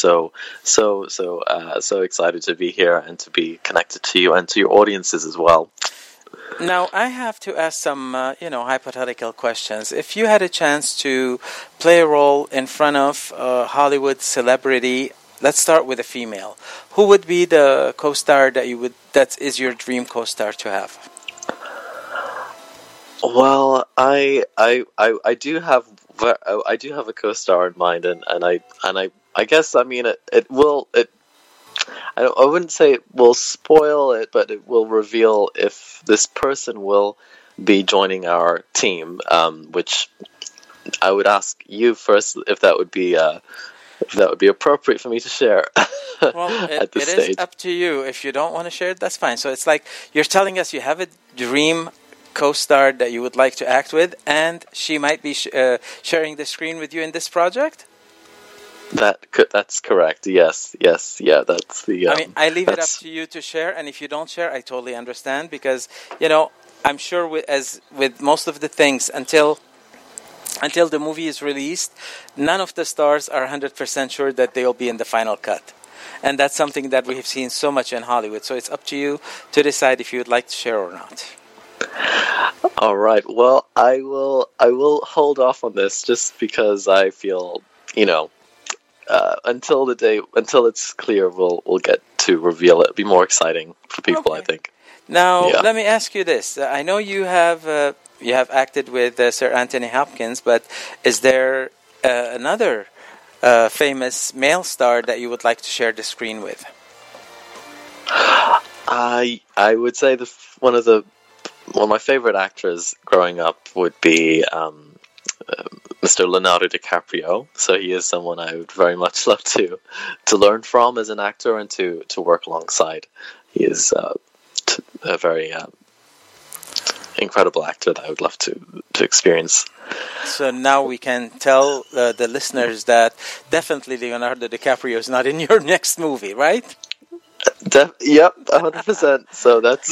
S12: so excited to be here and to be connected to you and to your audiences as well.
S7: Now, I have to ask some, hypothetical questions. If you had a chance to play a role in front of a Hollywood celebrity, let's start with a female. Who would be the co-star that is your dream co-star to have?
S12: Well, I do have a co-star in mind, and I guess, I mean, I wouldn't say it will spoil it, but it will reveal if this person will be joining our team, which I would ask you first if that would be appropriate for me to share.
S7: Well,
S12: at this
S7: it
S12: stage.
S7: Is up to you. If you don't want to share it, that's fine. So it's like you're telling us you have a dream co-star that you would like to act with, and she might be sharing the screen with you in this project?
S12: That's correct. Yes. Yeah, that's the...
S7: I mean, I leave it up to you to share, and if you don't share, I totally understand, because, I'm sure as with most of the things, until the movie is released, none of the stars are 100% sure that they'll be in the final cut. And that's something that we have seen so much in Hollywood. So it's up to you to decide if you would like to share or not.
S12: All right. Well, I will hold off on this just because I feel, until it's clear, we'll get to reveal it. It'll be more exciting for people, okay. I think.
S7: Now, Let me ask you this. I know you have acted with Sir Anthony Hopkins, but is there another famous male star that you would like to share the screen with?
S12: I would say one of my favorite actors growing up would be Mr. Leonardo DiCaprio. So he is someone I would very much love to learn from as an actor and to work alongside. He is a very incredible actor that I would love to experience.
S7: So now we can tell the listeners that definitely Leonardo DiCaprio is not in your next movie, right?
S12: Yep, 100%. So that's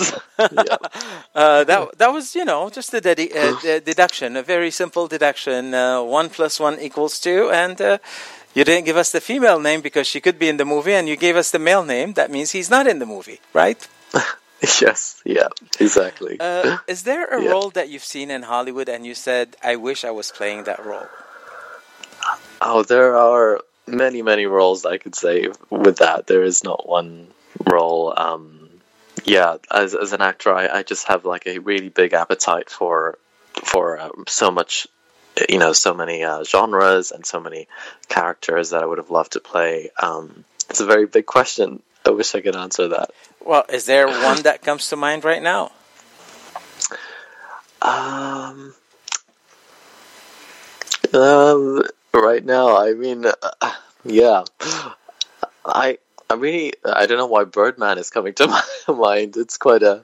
S7: that was just a deduction, a very simple deduction. 1 + 1 = 2, and you didn't give us the female name because she could be in the movie, and you gave us the male name. That means he's not in the movie, right?
S12: Yes, yeah, exactly.
S7: Is there a role that you've seen in Hollywood and you said, "I wish I was playing that role"?
S12: Oh, there are many roles I could say with that. There is not one role. As an actor, I just have like a really big appetite for so much, so many genres and so many characters that I would have loved to play. It's a very big question. I wish I could answer that.
S7: Well, is there one that comes to mind right now?
S12: Right now, I mean, I really, I don't know why Birdman is coming to my mind. It's quite a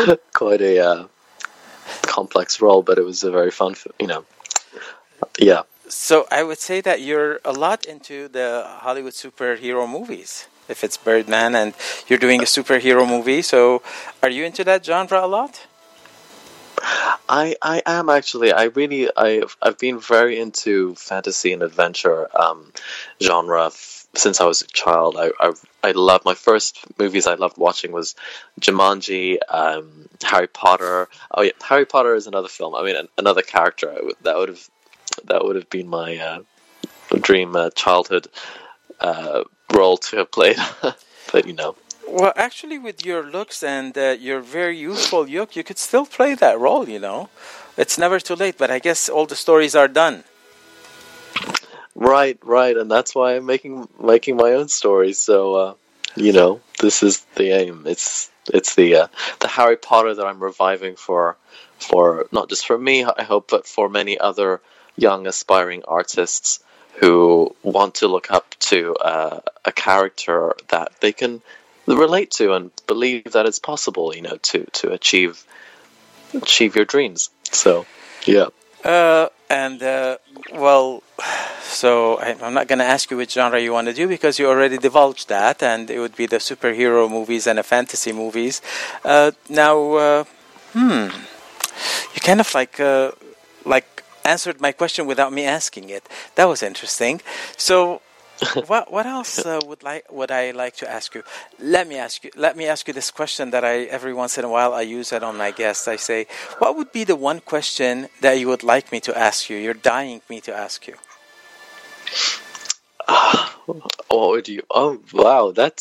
S12: complex role, but it was a very fun, yeah.
S7: So I would say that you're a lot into the Hollywood superhero movies. If it's Birdman and you're doing a superhero movie, so are you into that genre a lot?
S12: I am actually. I've been very into fantasy and adventure genre since I was a child. I loved my first movies I loved watching was Jumanji, Harry Potter. Oh yeah, Harry Potter is another film. I mean, another character that would have been my dream childhood role to have played. But you know.
S7: Well, actually, with your looks and your very youthful look, you could still play that role, you know. It's never too late, but I guess all the stories are done.
S12: Right, and that's why I'm making my own stories. So, you know, this is the aim. It's the Harry Potter that I'm reviving for not just for me, I hope, but for many other young aspiring artists who want to look up to a character that they can relate to and believe that it's possible, you know, to achieve your dreams. So, yeah.
S7: Well, so I'm not going to ask you which genre you want to do because you already divulged that, and it would be the superhero movies and the fantasy movies. Now, you kind of like answered my question without me asking it. That was interesting. So, what else would I like to ask you? Let me ask you this question that every once in a while I use it on my guests. I say, what would be the one question that you would like me to ask you? You're dying me to ask you.
S12: What would you? Oh wow, that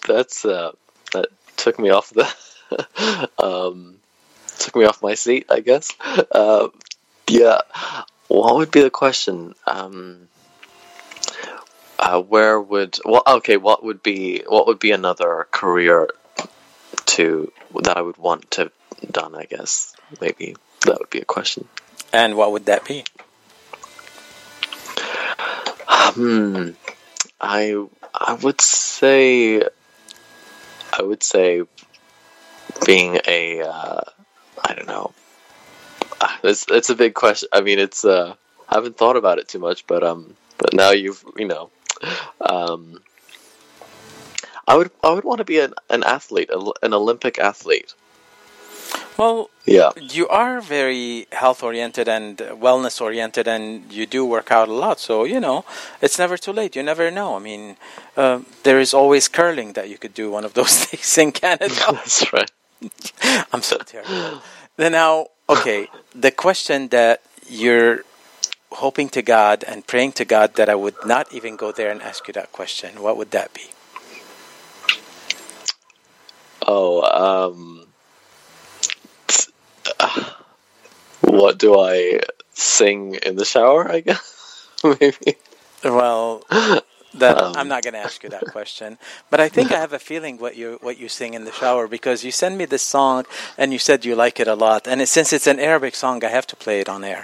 S12: took me off the took me off my seat, I guess. Yeah, what would be the question? What would be another career that I would want to have done, I guess. Maybe that would be a question.
S7: And what would that be?
S12: I would say being a I don't know. It's a big question. I mean, it's I haven't thought about it too much, but now I would want to be an athlete, an Olympic athlete.
S7: Well,
S12: yeah,
S7: you are very health oriented and wellness oriented, and you do work out a lot. So you know, it's never too late. You never know. I mean, there is always curling that you could do one of those days in Canada.
S12: That's right.
S7: I'm so terrible. Now, okay, the question that you're hoping to God and praying to God that I would not even go there and ask you that question, what would that be?
S12: What do I sing in the shower, I guess? Maybe.
S7: Well, I'm not going to ask you that question, but I think I have a feeling what you sing in the shower, because you sent me this song and you said you like it a lot, and since it's an Arabic song, I have to play it on air.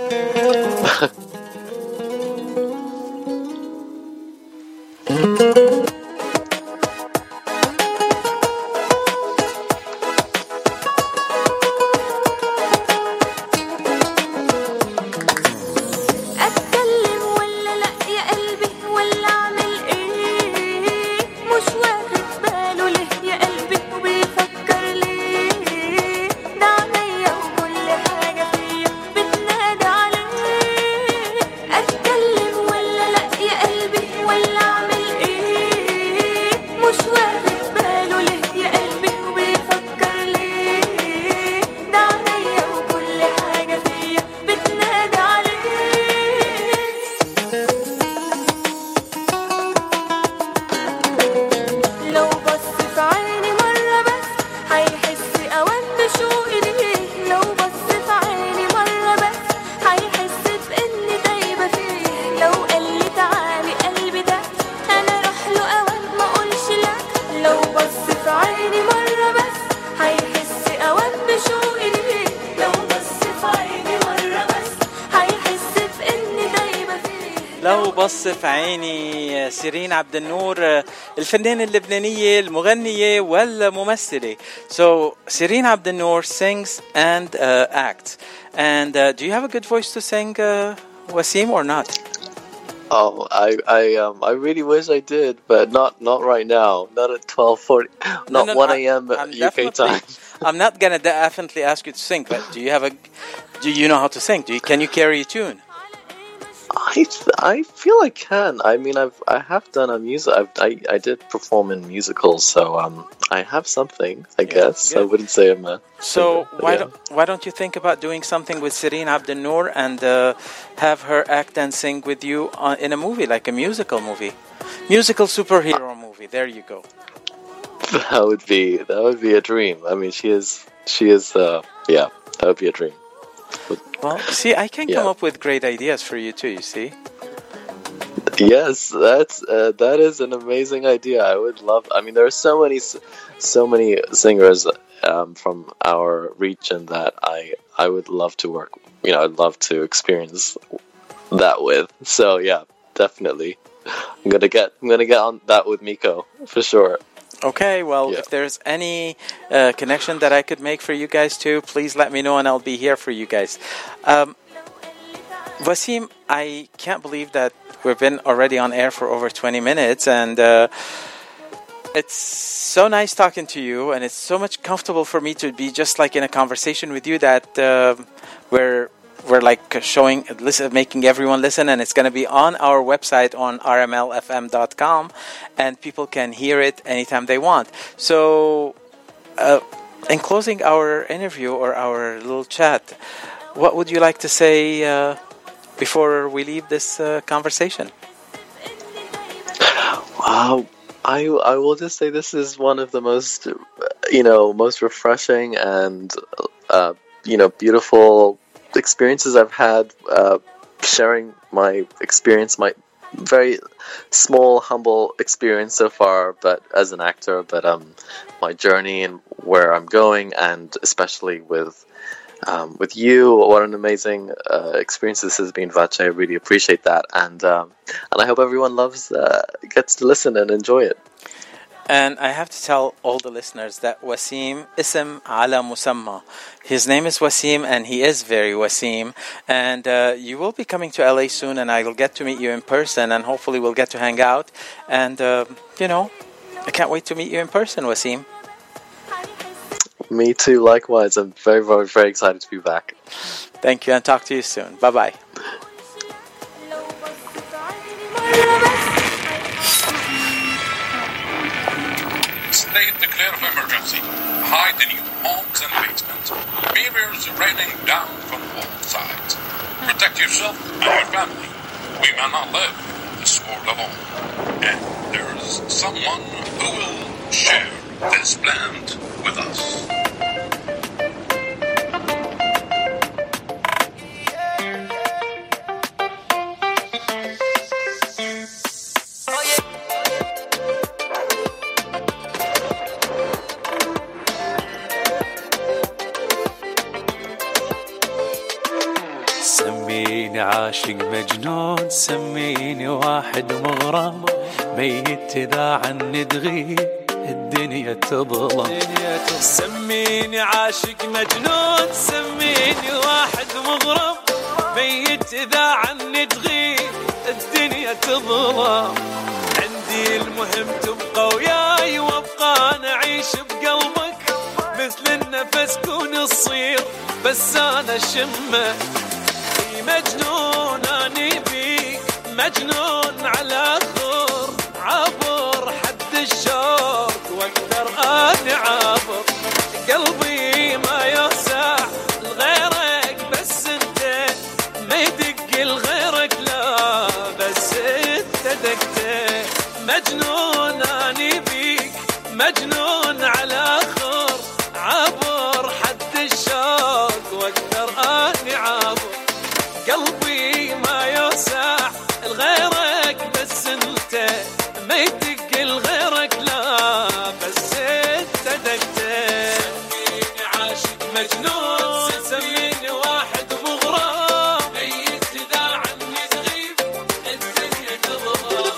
S7: بص في عيني سيرين عبد النور الفنانة اللبنانية المغنية والممثلة. So Sireen Abdel Noor sings and acts. And do you have a good voice to sing, Wasim, or not?
S12: Oh, I really wish I did, but not right now. Not at 12:40. Not 1 a.m. UK time.
S7: I'm not gonna definitely ask you to sing, but do you know how to sing? Can you carry a tune?
S12: I feel I can. I mean, I have done a music. I did perform in musicals, so I have something. I guess I wouldn't say I'm a.
S7: So why don't you think about doing something with Sireen Abdel-Noor and have her act and sing with you in a movie, like a musical superhero movie? There you go.
S12: That would be a dream. I mean, she is. Yeah, that would be a dream.
S7: Well, see, I can come up with great ideas for you too. You see.
S12: Yes, that is an amazing idea. I would love. I mean, there are so many singers from our region that I would love to work. You know, I'd love to experience that with. So yeah, definitely. I'm gonna get on that with Miko for sure.
S7: Okay, well, if there's any connection that I could make for you guys too, please let me know and I'll be here for you guys. Wasim, I can't believe that we've been already on air for over 20 minutes and it's so nice talking to you and it's so much comfortable for me to be just like in a conversation with you that we're like making everyone listen, and it's going to be on our website on rmlfm.com, and people can hear it anytime they want. So, in closing our interview or our little chat, what would you like to say before we leave this conversation?
S12: Wow. I will just say this is one of the most refreshing and beautiful experiences I've had sharing my experience, my very small, humble experience so far, but as an actor, but my journey and where I'm going, and especially with you. What an amazing experience this has been, Vache. I really appreciate that, and I hope everyone gets to listen and enjoy it.
S7: And I have to tell all the listeners that Wasim ism ala musamma. His name is Wasim and he is very Wasim. And you will be coming to LA soon and I will get to meet you in person and hopefully we'll get to hang out. And, I can't wait to meet you in person, Wasim.
S12: Me too, likewise. I'm very, very, very excited to be back.
S7: Thank you and talk to you soon. Bye-bye.
S13: State declare of emergency. Hide in your homes and basements. Mirrors raining down from all sides. Protect yourself and your family. We may not live this world alone. And there's someone who will share this land with us.
S8: سميني عاشق مجنون سميني واحد مغرم ميت إذا عني تغيب الدنيا تظلم سميني عاشق مجنون سميني واحد مغرم ميت إذا عني تغيب الدنيا تظلم عندي المهم تبقى وياي وابقى نعيش بقلبك مثل النفس كون تصير بس أنا شمك مجنون أني بيك مجنون على خور عبر حد الشوق واقدر أني عبر قلبي ما يوسع لغيرك بس انت ما يدق لغيرك لا بس انت دقت مجنون أني بيك مجنون على خور عبر حد الشوق واقدر أني عبر قلبي ما يوسع لغيرك بس انت ما يدق لغيرك لا بس انت دقت سميني عاشق مجنون سميني واحد مغرم ميت اذا عني تغيب الدنيا تظلم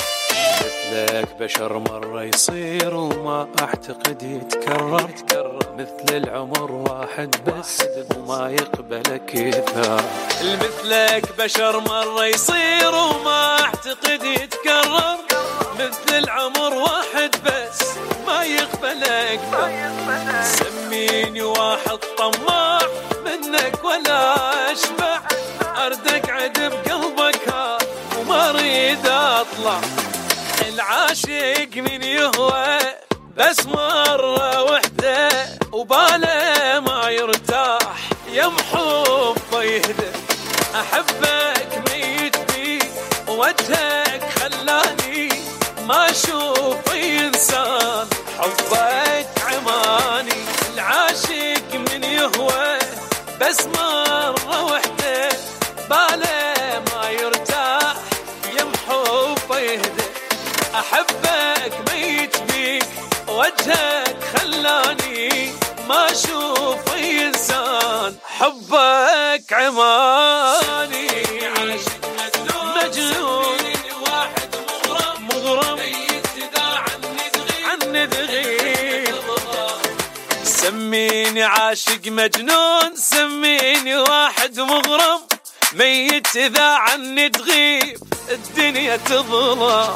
S8: بشر مرة يصير وما أعتقد يتكرر مثل العمر واحد بس وما يقبل كثار. مثلك بشر مرة يصير وما اعتقد يتكرر، مثل العمر واحد بس ما يقبل أكثر. سميني واحد طماع منك ولا أشبع، أردك عد بقلبك هاد وما أريد أطلع. العاشق من يهوى بس مرة وحدة وباله ما يرتاح، يا محبه يهدى. أحبك ميت بي وجهك خلاني ما أشوف إنسان، حبك عماني. العاشق من يهوى بس مرة وحدة باله ما يرتاح، يا محبه يهدى. أحبك ميت بيك وجهك خلاني ما أشوف إنسان، حبك عماني. مجنون واحد مغرم يتداعى عني تغيب. سميني عاشق مجنون، سميني واحد مغرم ميت إذا عني تغيب الدنيا تظلم.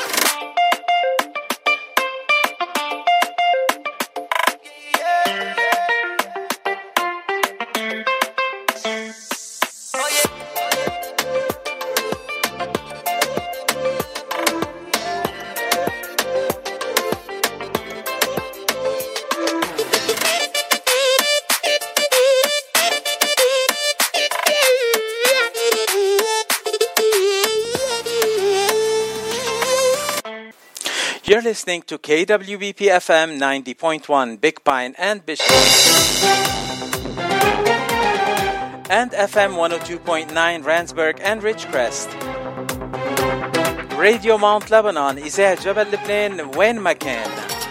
S7: You're listening to KWBP FM 90.1 Big Pine and Bishop, and FM 102.9 Randsburg and Ridgecrest. Radio Mount Lebanon إذاعة جبل لبنان وين ما كان.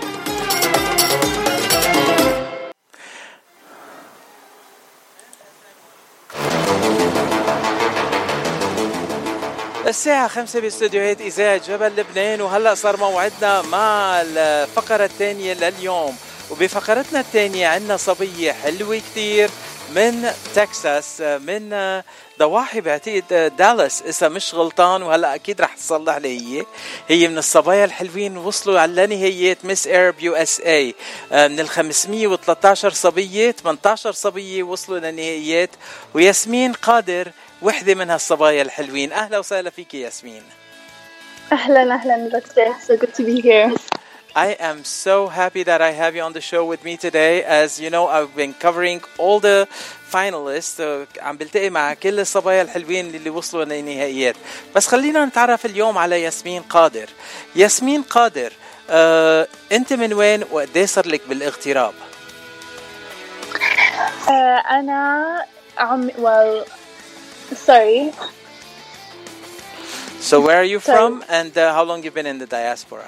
S7: الساعة 5 باستديوهات إذاعة جبل لبنان، وهلأ صار موعدنا مع الفقرة الثانية لليوم. وبفقرتنا الثانية عندنا صبية حلوة كتير من تكساس، من ضواحي بعتقد دالاس إذا مش غلطان، وهلأ أكيد رح تصلح لي. هي من الصبايا الحلوين، وصلوا على نهايات مس إيرب يو اس اي. من 513 صبية 18 صبية وصلوا لنهايات، وياسمين قادر وحدة من هالصبايا الحلوين. أهلا وسهلا فيك ياسمين.
S14: أهلا دكتور. So good to be here.
S7: I am so happy that I have you on the show with me today. As you know, I've been covering all the finalists. عم بلتقي مع كل الصبايا الحلوين اللي وصلوا للنهائيات. بس خلينا نتعرف اليوم على ياسمين قادر. ياسمين قادر، أنت من وين وقديه صار لك بالاغتراب؟
S14: أنا sorry.
S7: So where are you from, and how long you've been in the diaspora?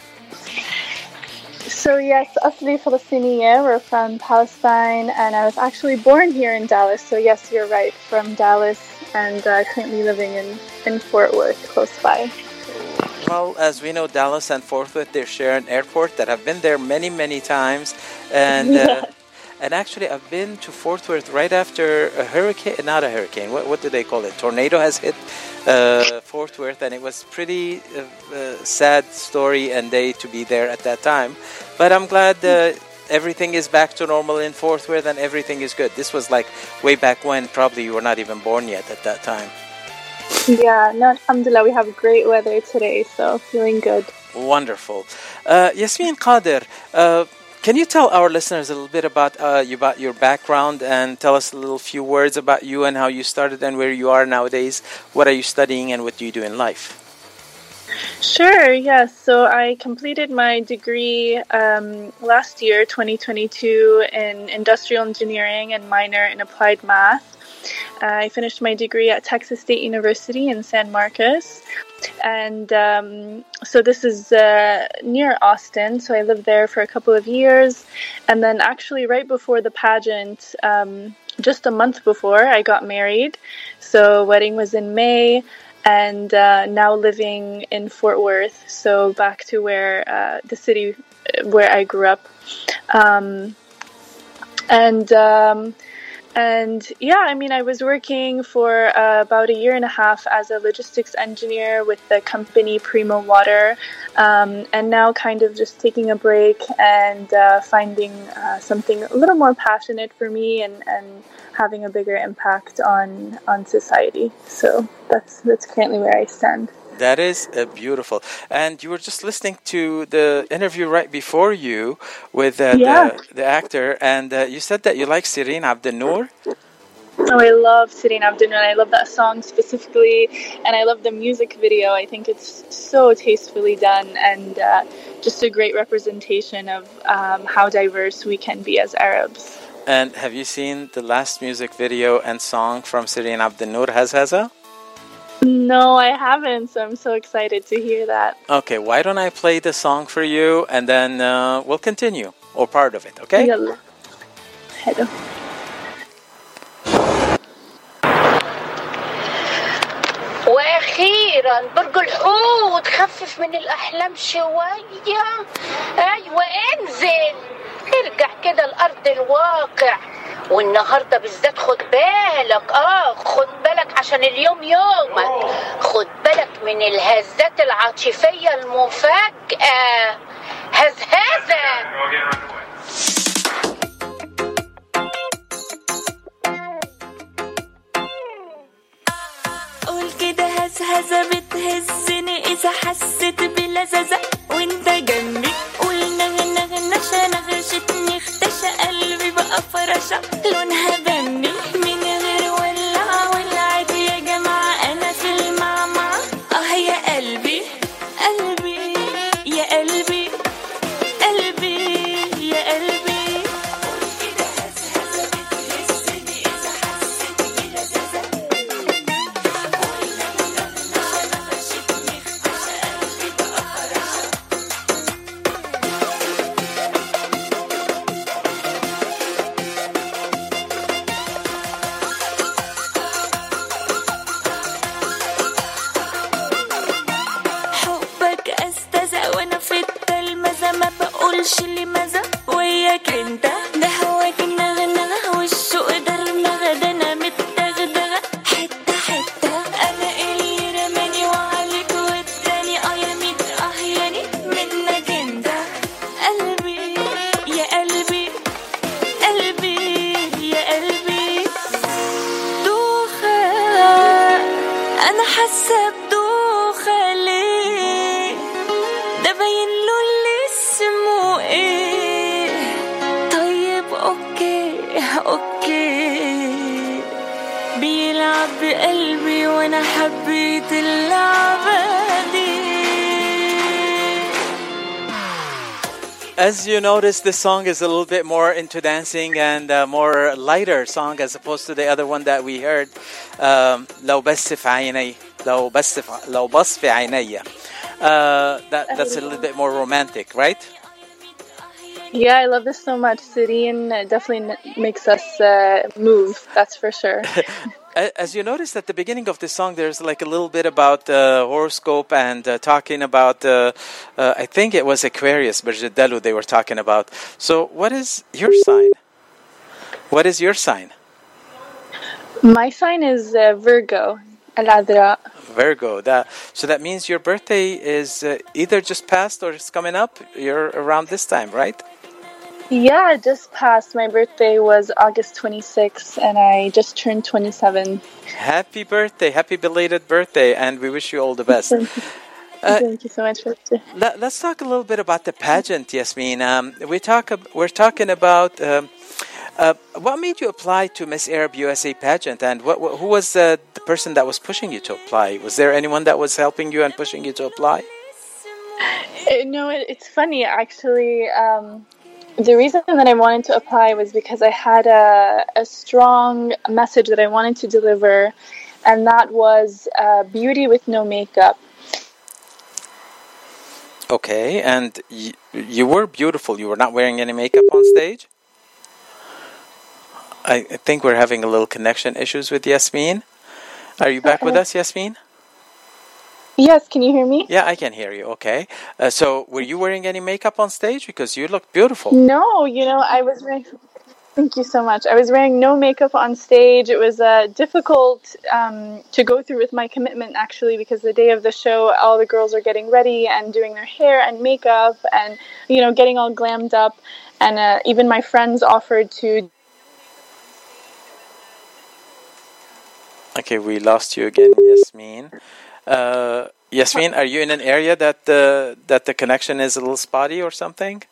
S14: So yes, أصلي فلسطينية. We're from Palestine, and I was actually born here in Dallas. So yes, you're right, from Dallas, and currently living in Fort Worth, close by.
S7: Well, as we know, Dallas and Fort Worth, they share an airport that I've been there many times, and and actually I've been to Fort Worth right after a hurricane, not a hurricane, what do they call it? Tornado has hit Fort Worth, and it was pretty sad story and day to be there at that time. But I'm glad everything is back to normal in Fort Worth and everything is good. This was like way back when probably you were not even born yet at that time.
S14: Yeah, no, alhamdulillah, we have great weather today, so feeling good.
S7: Wonderful. Yasmeen Qadir, can you tell our listeners a little bit about your background, and tell us a little few words about you and how you started and where you are nowadays? What are you studying and what do you do in life?
S14: Sure, yes. So I completed my degree last year, 2022, in industrial engineering and minor in applied math. I finished my degree at Texas State University in San Marcos. And so this is near Austin. So I lived there for a couple of years. And then actually right before the pageant, just a month before, I got married. So wedding was in May. And now living in Fort Worth. So back to where the city where I grew up. And yeah, I mean, I was working for about a year and a half as a logistics engineer with the company Primo Water, and now kind of just taking a break and finding something a little more passionate for me and having a bigger impact on society. So that's currently where I stand.
S7: That is beautiful. And you were just listening to the interview right before you with the actor, and you said that you like Sirine Abdenoor.
S14: Oh, I love Sirine Abdenoor. I love that song specifically, and I love the music video. I think it's so tastefully done and just a great representation of how diverse we can be as Arabs.
S7: And have you seen the last music video and song from Sirine Abdenoor, Hazhaza?
S14: No, I haven't, so I'm so excited to hear that.
S7: Okay, why don't I play the song for you, and then we'll continue, or part of it, okay?
S14: يلا. حلو.
S15: واخيرا برج الحوت، خفف من الاحلام شويه. ايوه انزل، ارجع كده لارض الواقع. والنهارده بالذات خد بالك، خد بالك عشان اليوم يومك. خد بالك من الهزات العاطفيه المفاجئه. هزهزه.
S10: قول كده هزهزة بتهزني إذا حسيت بلذذة وانت جنبي. قول نغنغنشة نغشتني اختشى قلبي بقى فرشة لونها بني من غير ولعت يا جماعة أنا في المعمعة. يا قلبي قلبي يا قلبي قلبي يا قلبي. قول كده هزهزة بتهزني إذا حسيت بلذذة قولش لي ماذا وياك انت. ده هواك النغنغة والشوق درمغة، ده انا متدغدغة حتة حتة. انا اللي رماني وعليك والتاني يا ميت ياني منك انت. قلبي يا قلبي قلبي يا قلبي. دوخة انا حاسة بدوخة ليه؟ ده باين له اللي اسمه ايه؟ طيب اوكي بيلعب بقلبي وانا حبيت اللعبة دي.
S7: As you notice, this song is a little bit more into dancing and more lighter song as opposed to the other one that we heard. لو بس في عيني لو بص في عيني. That's a little bit more romantic, right?
S14: Yeah, I love this so much. Sirine definitely makes us move, that's for sure.
S7: As you noticed at the beginning of this song, there's like a little bit about horoscope and talking about, I think it was Aquarius, Berjadalu they were talking about. So what is your sign? What is your sign?
S14: My sign is Virgo, Al-Adra.
S7: Virgo. So that means your birthday is either just passed or it's coming up. You're around this time, right?
S14: Yeah, it just passed. My birthday was August 26th, and I just turned 27.
S7: Happy birthday. Happy belated birthday, and we wish you all the best.
S14: Thank you so much.
S7: Let's talk a little bit about the pageant, Yasmin. We're talking about what made you apply to Miss Arab USA pageant, and who was the person that was pushing you to apply? Was there anyone that was helping you and pushing you to apply?
S14: No, it's funny actually. The reason that I wanted to apply was because I had a strong message that I wanted to deliver, and that was beauty with no makeup.
S7: Okay, and you were beautiful. You were not wearing any makeup on stage? I think we're having a little connection issues with Yasmin. Are you back with us, Yasmin?
S14: Yes, can you hear me?
S7: Yeah, I can hear you. Okay. So were you wearing any makeup on stage? Because you look beautiful.
S14: No, I was Thank you so much. I was wearing no makeup on stage. It was difficult to go through with my commitment, actually, because the day of the show, all the girls are getting ready and doing their hair and makeup and, getting all glammed up. And even my friends offered to...
S7: Okay, we lost you again, Yasmin. Yasmin, are you in an area that the connection is a little spotty or something?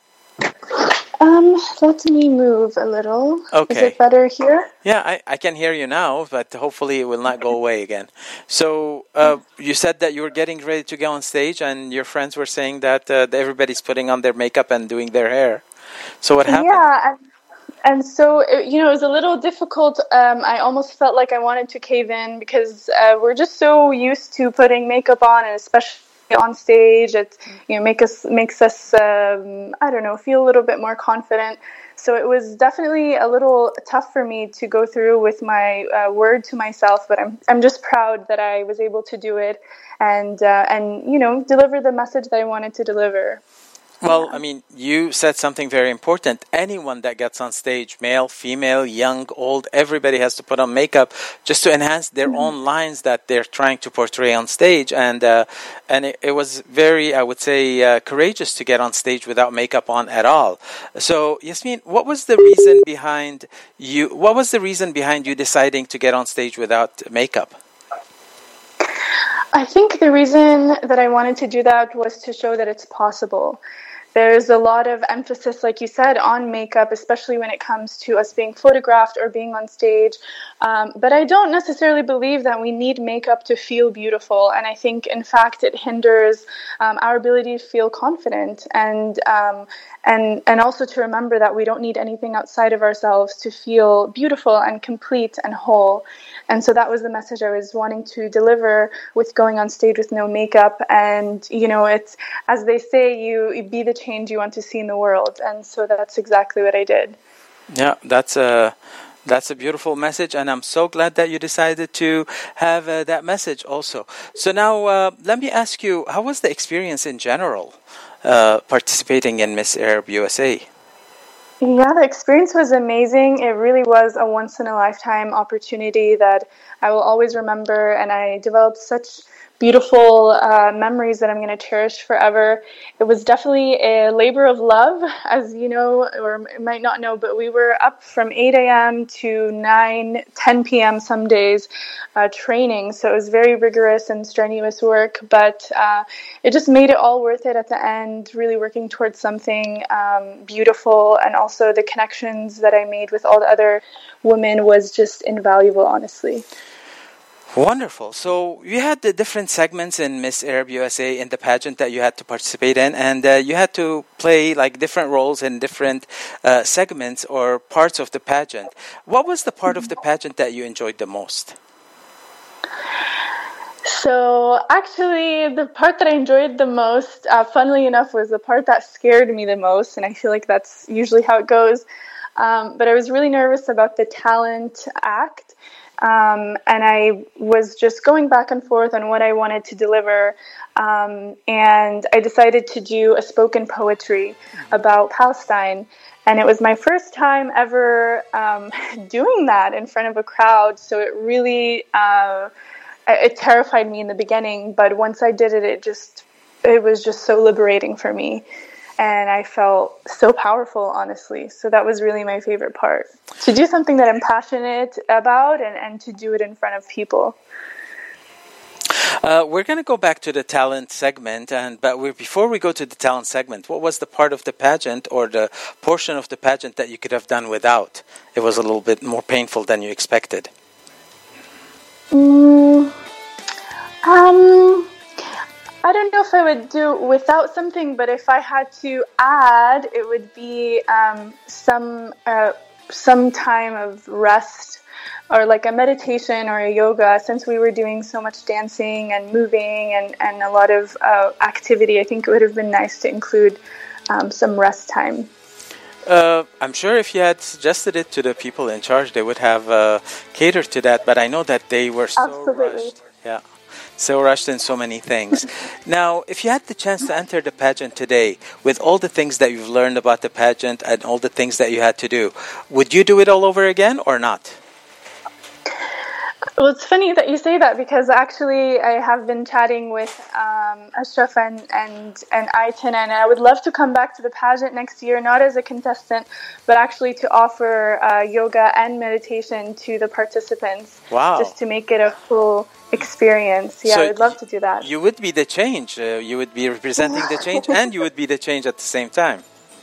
S14: Let me move a little.
S7: Okay.
S14: Is it better here?
S7: Yeah, I can hear you now, but hopefully it will not go away again. So you said that you were getting ready to go on stage, and your friends were saying that everybody's putting on their makeup and doing their hair. So what happened?
S14: Yeah, and so, it was a little difficult. I almost felt like I wanted to cave in because we're just so used to putting makeup on, and especially on stage, it makes us feel a little bit more confident. So it was definitely a little tough for me to go through with my word to myself, but I'm just proud that I was able to do it and deliver the message that I wanted to deliver.
S7: Well, I mean, you said something very important. Anyone that gets on stage, male, female, young, old, everybody has to put on makeup just to enhance their own lines that they're trying to portray on stage. And it was very, I would say, courageous to get on stage without makeup on at all. So, Yasmin, what was the reason behind you deciding to get on stage without makeup?
S14: I think the reason that I wanted to do that was to show that it's possible. There's a lot of emphasis, like you said, on makeup, especially when it comes to us being photographed or being on stage. But I don't necessarily believe that we need makeup to feel beautiful. And I think, in fact, it hinders our ability to feel confident and also to remember that we don't need anything outside of ourselves to feel beautiful and complete and whole. And so that was the message I was wanting to deliver with going on stage with no makeup. And, it's, as they say, you be the change you want to see in the world. And so that's exactly what I did.
S7: Yeah, that's a beautiful message. And I'm so glad that you decided to have that message also. So now let me ask you, how was the experience in general participating in Miss Arab USA?
S14: Yeah, the experience was amazing. It really was a once-in-a-lifetime opportunity that I will always remember, and I developed such beautiful memories that I'm going to cherish forever. It was definitely a labor of love, as you know, or might not know, but we were up from 8 a.m. to 10 p.m. some days training. So it was very rigorous and strenuous work, but it just made it all worth it at the end, really working towards something beautiful. And also the connections that I made with all the other women was just invaluable, honestly.
S7: Wonderful. So you had the different segments in Miss Arab USA in the pageant that you had to participate in, and you had to play like different roles in different segments or parts of the pageant. What was the part of the pageant that you enjoyed the most?
S14: So actually, the part that I enjoyed the most, funnily enough, was the part that scared me the most, and I feel like that's usually how it goes. But I was really nervous about the talent act. And I was just going back and forth on what I wanted to deliver. And I decided to do a spoken poetry about Palestine. And it was my first time ever doing that in front of a crowd. So it really, it terrified me in the beginning. But once I did it, it was just so liberating for me. And I felt so powerful, honestly. So that was really my favorite part. To do something that I'm passionate about and to do it in front of people.
S7: We're going to go back to the talent segment. But before we go to the talent segment, what was the part of the pageant or the portion of the pageant that you could have done without? It was a little bit more painful than you expected.
S14: I don't know if I would do without something, but if I had to add, it would be some time of rest or like a meditation or a yoga. Since we were doing so much dancing and moving and a lot of activity, I think it would have been nice to include some rest time.
S7: I'm sure if you had suggested it to the people in charge, they would have catered to that, but I know that they were so rushed. Yeah. So rushed in so many things. Now, if you had the chance to enter the pageant today, with all the things that you've learned about the pageant and all the things that you had to do, would you do it all over again or not?
S14: Well, it's funny that you say that because actually I have been chatting with Ashraf and Ayten, and I would love to come back to the pageant next year, not as a contestant, but actually to offer yoga and meditation to the participants.
S7: Wow.
S14: Just to make it a full experience. Yeah,
S7: So
S14: I would love to do that.
S7: You would be the change. You would be representing the change and you would be the change at the same time.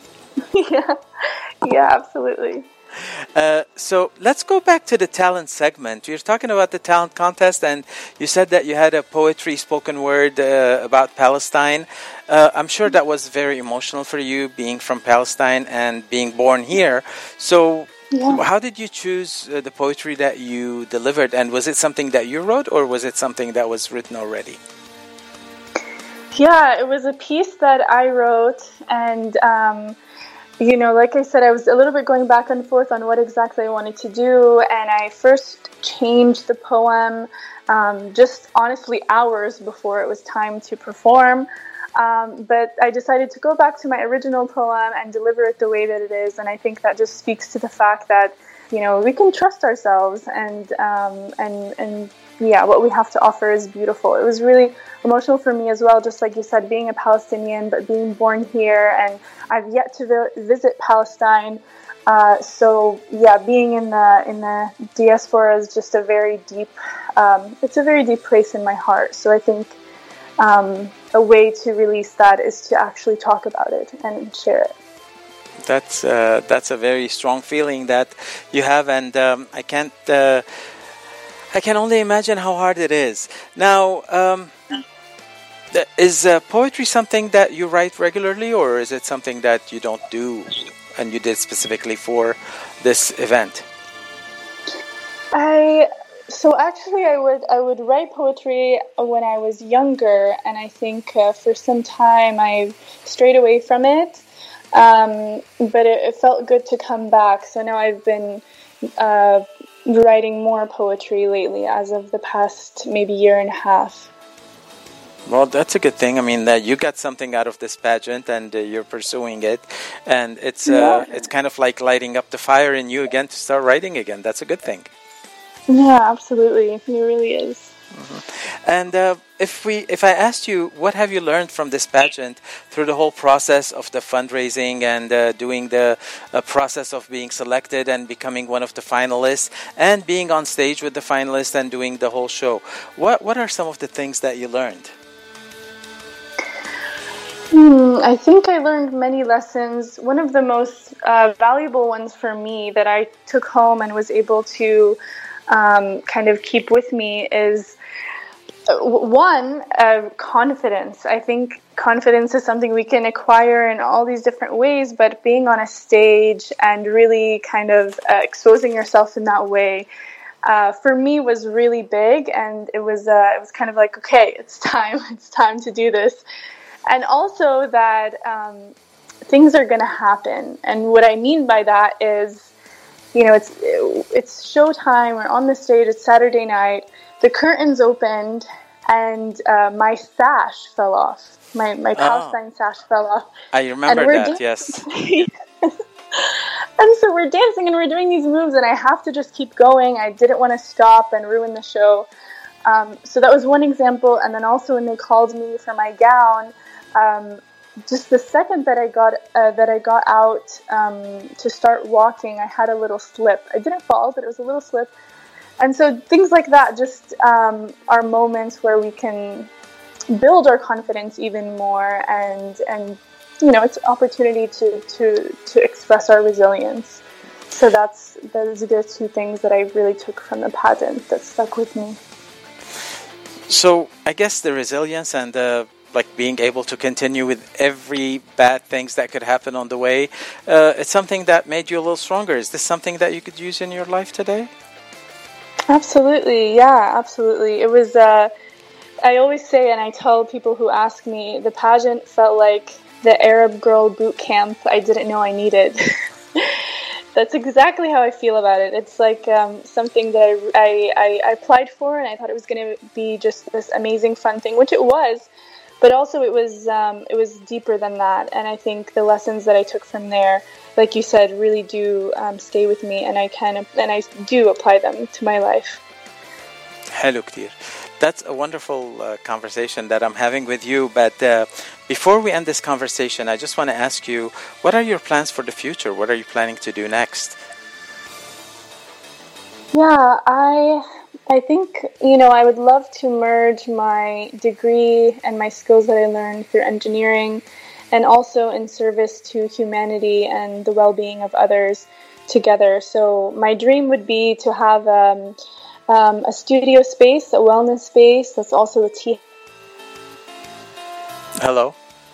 S14: Yeah, absolutely.
S7: So let's go back to the talent segment. You're talking about the talent contest, and you said that you had a poetry spoken word about Palestine. I'm sure that was very emotional for you, being from Palestine and being born here. So how did you choose the poetry that you delivered? And was it something that you wrote, or was it something that was written already?
S14: Yeah, it was a piece that I wrote, and like I said, I was a little bit going back and forth on what exactly I wanted to do, and I first changed the poem just honestly hours before it was time to perform. But I decided to go back to my original poem and deliver it the way that it is, and I think that just speaks to the fact that we can trust ourselves, and what we have to offer is beautiful. It was really emotional for me as well, just like you said, being a Palestinian but being born here, and I've yet to visit Palestine. Being in the diaspora is just a very deep place in my heart. So I think a way to release that is to actually talk about it and share it.
S7: That's a very strong feeling that you have, and I can only imagine how hard it is. Now, is poetry something that you write regularly, or is it something that you don't do and you did specifically for this event?
S14: I would write poetry when I was younger, and I think for some time I strayed away from it. But it felt good to come back. So now I've been writing more poetry lately, as of the past maybe year and a half.
S7: Well, that's a good thing. I mean, that you got something out of this pageant, and you're pursuing it, and it's kind of like lighting up the fire in you again to start writing again. That's a good thing.
S14: Yeah, absolutely. It really is.
S7: Mm-hmm. And if I asked you, what have you learned from this pageant through the whole process of the fundraising and doing the process of being selected and becoming one of the finalists and being on stage with the finalists and doing the whole show, what are some of the things that you learned?
S14: I think I learned many lessons. One of the most valuable ones for me that I took home and was able to kind of keep with me is confidence. I think confidence is something we can acquire in all these different ways, but being on a stage and really kind of exposing yourself in that way, for me was really big, and it was kind of like, okay, it's time to do this. And also that things are going to happen. And what I mean by that is, it's showtime. We're on the stage. It's Saturday night. The curtains opened, and my sash fell off. My Palestine sash fell off.
S7: I remember that, yes.
S14: And so we're dancing, and we're doing these moves, and I have to just keep going. I didn't want to stop and ruin the show. So that was one example. And then also when they called me for my gown, just the second that I got out to start walking, I had a little slip. I didn't fall, but it was a little slip. And so things like that just are moments where we can build our confidence even more, and it's an opportunity to express our resilience. So those are the two things that I really took from the pageant that stuck with me.
S7: So I guess the resilience and being able to continue with every bad things that could happen on the way, it's something that made you a little stronger. Is this something that you could use in your life today?
S14: Absolutely, yeah, absolutely. It was, I always say, and I tell people who ask me, the pageant felt like the Arab Girl boot camp I didn't know I needed. That's exactly how I feel about it. It's like something that I applied for, and I thought it was going to be just this amazing fun thing, which it was. But also it was deeper than that. And I think the lessons that I took from there, like you said, really do stay with me, and I do apply them to my life.
S7: حلو كتير. That's a wonderful conversation that I'm having with you. But before we end this conversation, I just want to ask you, what are your plans for the future? What are you planning to do next?
S14: Yeah, I think, I would love to merge my degree and my skills that I learned through engineering, and also in service to humanity and the well-being of others together. So my dream would be to have a studio space, a wellness space that's also a tea.
S7: Hello?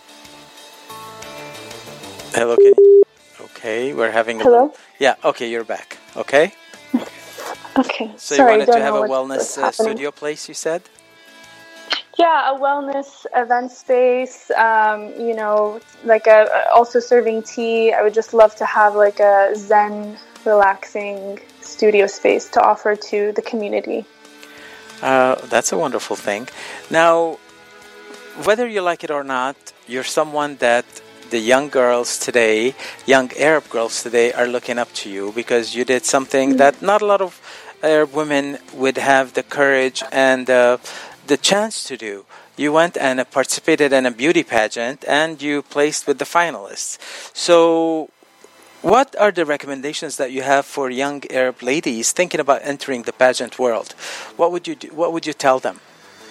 S7: Hello, can you? Okay, we're having a...
S14: Hello?
S7: Yeah, okay, you're back. Okay?
S14: Okay.
S7: So
S14: Sorry,
S7: you wanted to have a
S14: what's
S7: wellness studio place, you said?
S14: Yeah, a wellness event space, like also serving tea. I would just love to have like a Zen, relaxing studio space to offer to the community.
S7: That's a wonderful thing. Now, whether you like it or not, you're someone that the young girls today, young Arab girls today, are looking up to you, because you did something that not a lot of Arab women would have the courage and the chance to do. You went and participated in a beauty pageant, and you placed with the finalists. So what are the recommendations that you have for young Arab ladies thinking about entering the pageant world? What would you do? What would you tell them?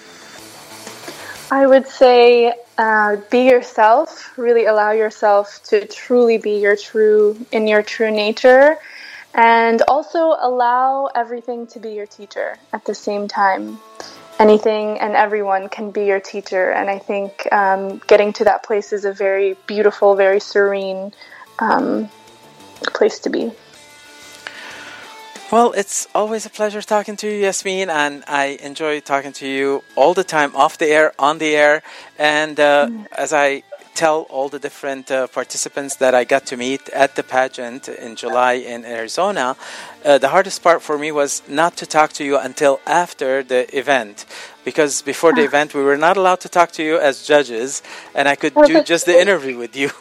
S14: I would say be yourself. Really allow yourself to truly be your true nature, and also allow everything to be your teacher at the same time. Anything and everyone can be your teacher, and I think getting to that place is a very beautiful, very serene place to be.
S7: Well, it's always a pleasure talking to you, Yasmin, and I enjoy talking to you all the time, off the air, on the air, and as I tell all the different participants that I got to meet at the pageant in July in Arizona, the hardest part for me was not to talk to you until after the event, because before the event we were not allowed to talk to you as judges, and I could do just the interview with you.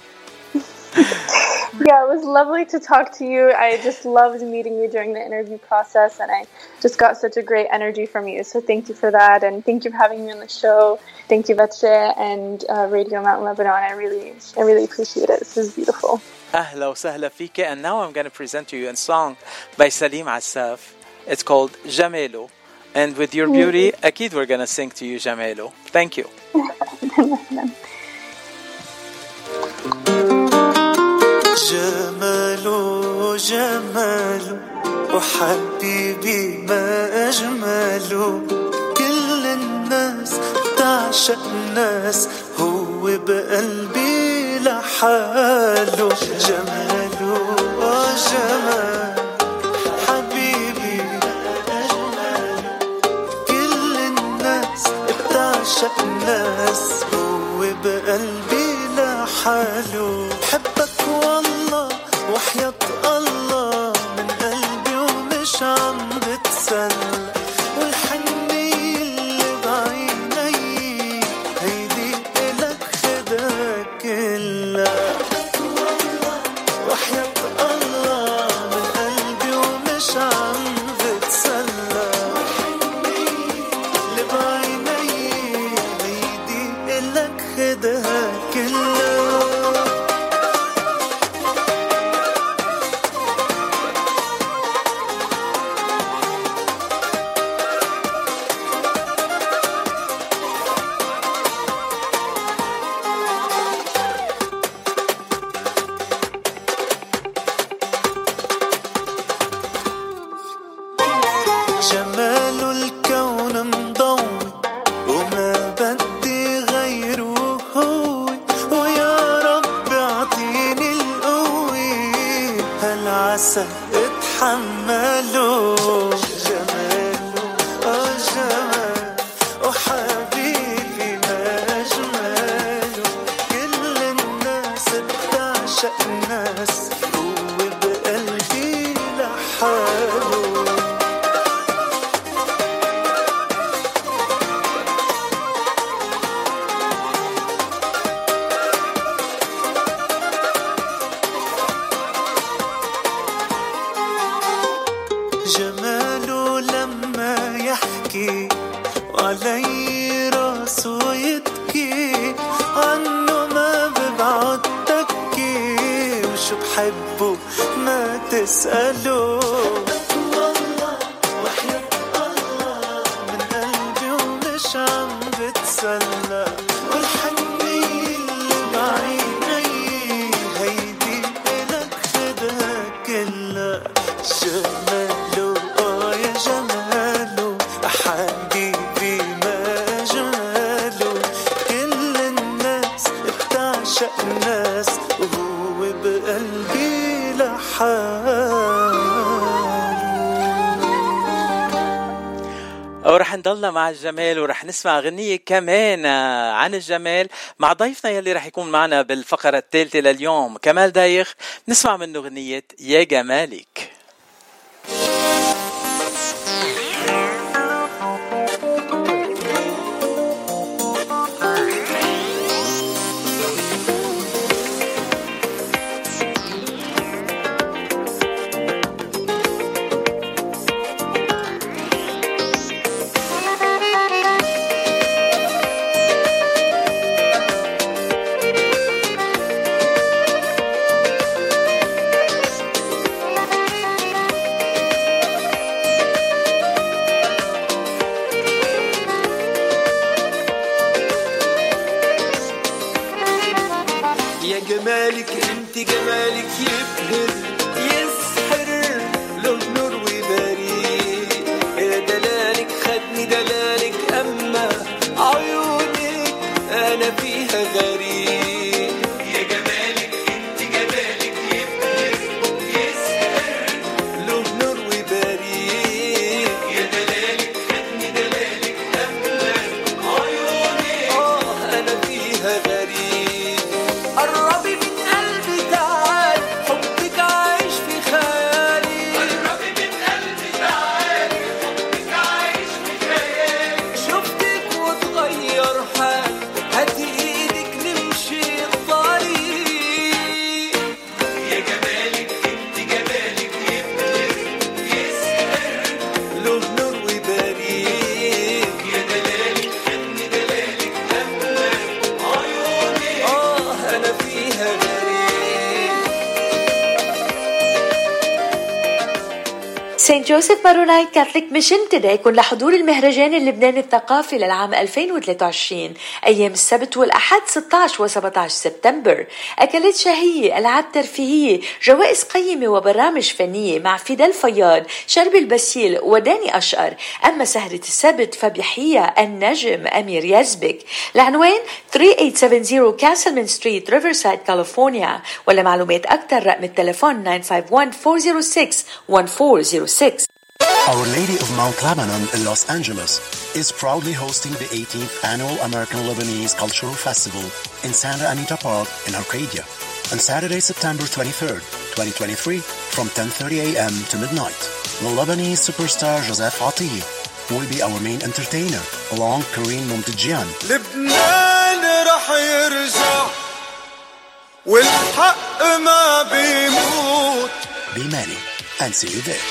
S14: Yeah, it was lovely to talk to you. I just loved meeting you during the interview process, and I just got such a great energy from you. So thank you for that, and thank you for having me on the show. Thank you, Batshe, and Radio Mount Lebanon. I really appreciate it. This is beautiful.
S7: أهلا وسهلا فيك. And now I'm going to present to you a song by Salim Assaf. It's called Jamelo. And with your beauty, أكيد we're going to sing to you Jamelo. Thank you.
S16: جماله جماله وحبيبي ما أجمله كل الناس تعشق ناس هو بقلبي لحاله جماله جمال حبيبي كل الناس بتعشق ناس هو بقلبي لحاله حبك والله وحياة الله من قلبي ومش عم بتسلى والحنية اللي بعيني هيدي إلك خدها كلها وحياة الله من قلبي ومش عم بتسلى اللي بعيني هيدي إلك خدها كلها هي راسه يبكي عنه ما ببعد تكي وشو بحبه ما تسأله والله وحياة الله من قلبي ومش عم بتسلى والحنية اللي بعيني هيدي إلك خدها كلها جماله يا جماله حبيبي ما جماله كل الناس بتعشق الناس وهو بقلبي لحاله.
S7: ورح نضلنا مع الجمال ورح نسمع غنية كمان عن الجمال مع ضيفنا يلي رح يكون معنا بالفقرة الثالثة لليوم كمال دايخ. نسمع منه غنية يا جمالك.
S16: جمالك انت جمالك يبهر يسحر له نور وبريق يا دلالك خدني دلالك اما عيونك انا فيها غريب يا جمالك انت جمالك يبهر يسحر له نور وبريق يا دلالك خدني دلالك اما عيونك انا فيها غريب قربي من قلبي تعال حبك عايش في خيالي قربي من قلبي تعال حبك عايش في خيالي شفتك وتغير حالي هاتي ايدك نمشي الطريق يا جمالك انت جمالك يبهر يسهر له نور وبريق يا دلالك خدني دلالك أما عيوني أنا فيها
S2: سانت جوزيف مارونايت كاثوليك ميشن تدعيكم لحضور المهرجان اللبناني الثقافي للعام 2023 أيام السبت والأحد 16 و17 سبتمبر. أكلات شهية، ألعاب ترفيهية، جوائز قيمة وبرامج فنية مع فيدال فياض، شرب البسيل وداني أشقر. أما سهرة السبت فبيحييها النجم أمير يزبك. العنوان 3870 كاسلمان ستريت ريفرسايد كاليفورنيا، ولا معلومات أكثر رقم التليفون 951-406-1406.
S11: Our Lady of Mount Lebanon in Los Angeles is proudly hosting the 18th Annual American Lebanese Cultural Festival in Santa Anita Park in Arcadia on Saturday, September 23rd, 2023 from 10:30 a.m. to midnight. The Lebanese superstar Joseph Atiye will be our main entertainer along Kareem Momtadjian.
S16: لبنان رح يرجع والحق ما بيموت.
S11: Be many and see you there.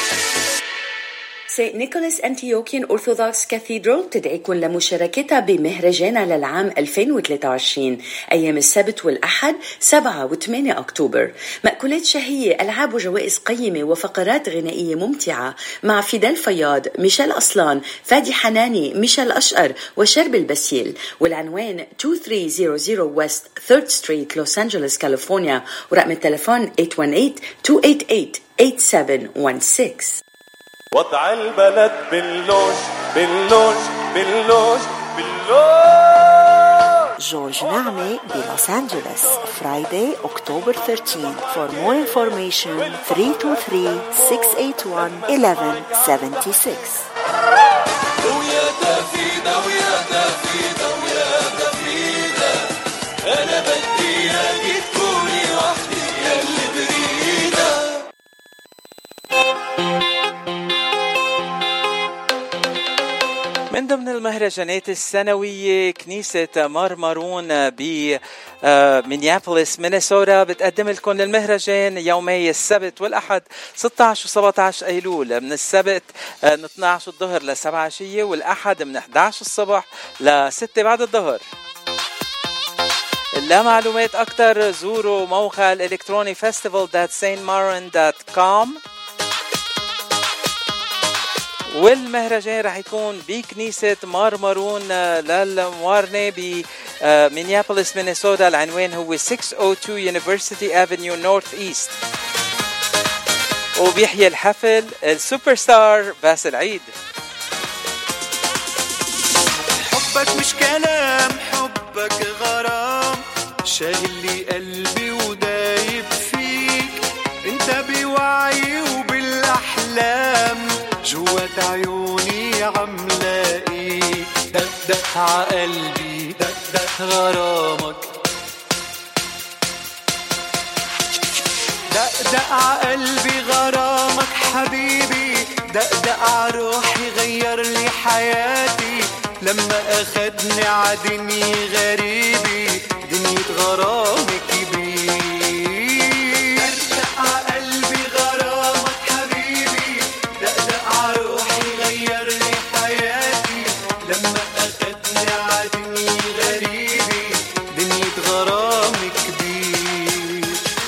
S2: St. Nicholas Antiochian Orthodox Cathedral تدعيكم لمشاركتها بمهرجانها للعام 2023 أيام السبت والأحد 7 و8 أكتوبر. مأكولات شهية، ألعاب وجوائز قيمة وفقرات غنائية ممتعة مع فيدال فياض، ميشيل أصلان، فادي حناني، ميشيل أشقر وشرب البسيل. والعنوان 2300 West 3rd Street لوس أنجلوس كاليفورنيا، ورقم التليفون 818-288-8716.
S16: وضع البلد باللوج باللوج باللوج باللوج.
S4: جورج نعمة بلوس أنجلوس Friday, October 13. For more information 323-681-1176.
S16: ويا تفيدة ويا تفيدة ويا تفيدة أنا بدي إياكي تكوني وحدي يلي بريدة.
S7: من ضمن المهرجانات السنوية كنيسة مرمرون بمينيابوليس مينيسوتا بتقدم لكم المهرجان يومي السبت والأحد 16 و17 أيلول، من السبت من 12 الظهر ل7 عشية، والأحد من 11 الصبح ل6 بعد الظهر. لمعلومات أكتر زوروا موقع الإلكتروني festival.saintmarin.com. والمهرجان رح يكون بكنيسة مرمرون للموارنة بمينيابوليس مينيسوتا. العنوان هو 602 University Avenue North East. وبيحيي الحفل السوبر ستار باسل عيد.
S16: حبك مش كلام، حبك غرام، شاغل لي قلبي ودايب فيك، انت بوعي وبالاحلام جوات عيوني عم لاقيك. دق دق عقلبي، دق دق غرامك، دق دق عقلبي غرامك حبيبي، دق دق عروحي غير لي حياتي، لما أخدني عدني غريبي دنيا غرامك بيه. دق قلبي غرامك حبيبي، دق عروحي غير لي حياتي، لما أخدني عدني غريبي دنيا غرامك بيه.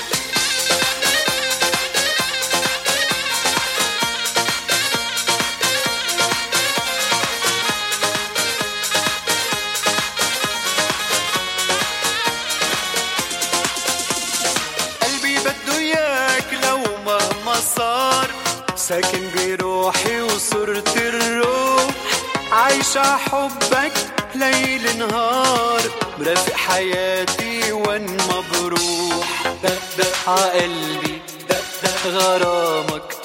S16: ساكن بروحي وصرت الروح، عايشة حبك ليل نهار، مرافق حياتي وين ما بروح. دق دق عقلبي، دق دق غرامك،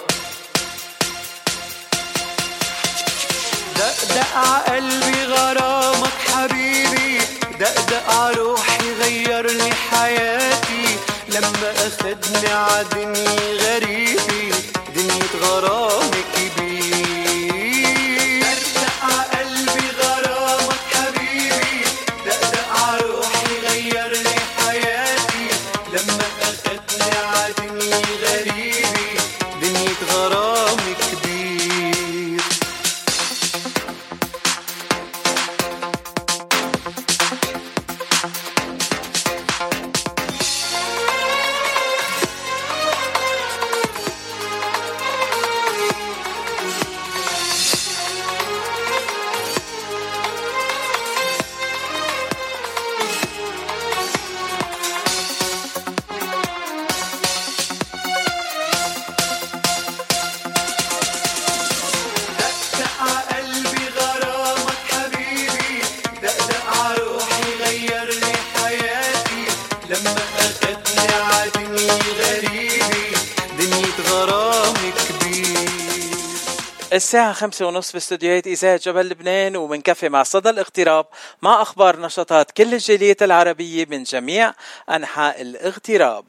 S16: دق دق عقلبي غرامك حبيبي، دق دق عروحي غير لي حياتي، لما أخدني عدني غريبي دنيا غرامك بيه. دق قلبي غرامك حبيبي، دق عروحي غير لي حياتي، لما أخدني عدني غريبي دنيا غرامك بيه.
S7: الساعة 5:30 باستديوهات إذاعة جبل لبنان، ومنكفي مع صدى الاغتراب مع أخبار نشاطات كل الجاليات العربية من جميع أنحاء الاغتراب.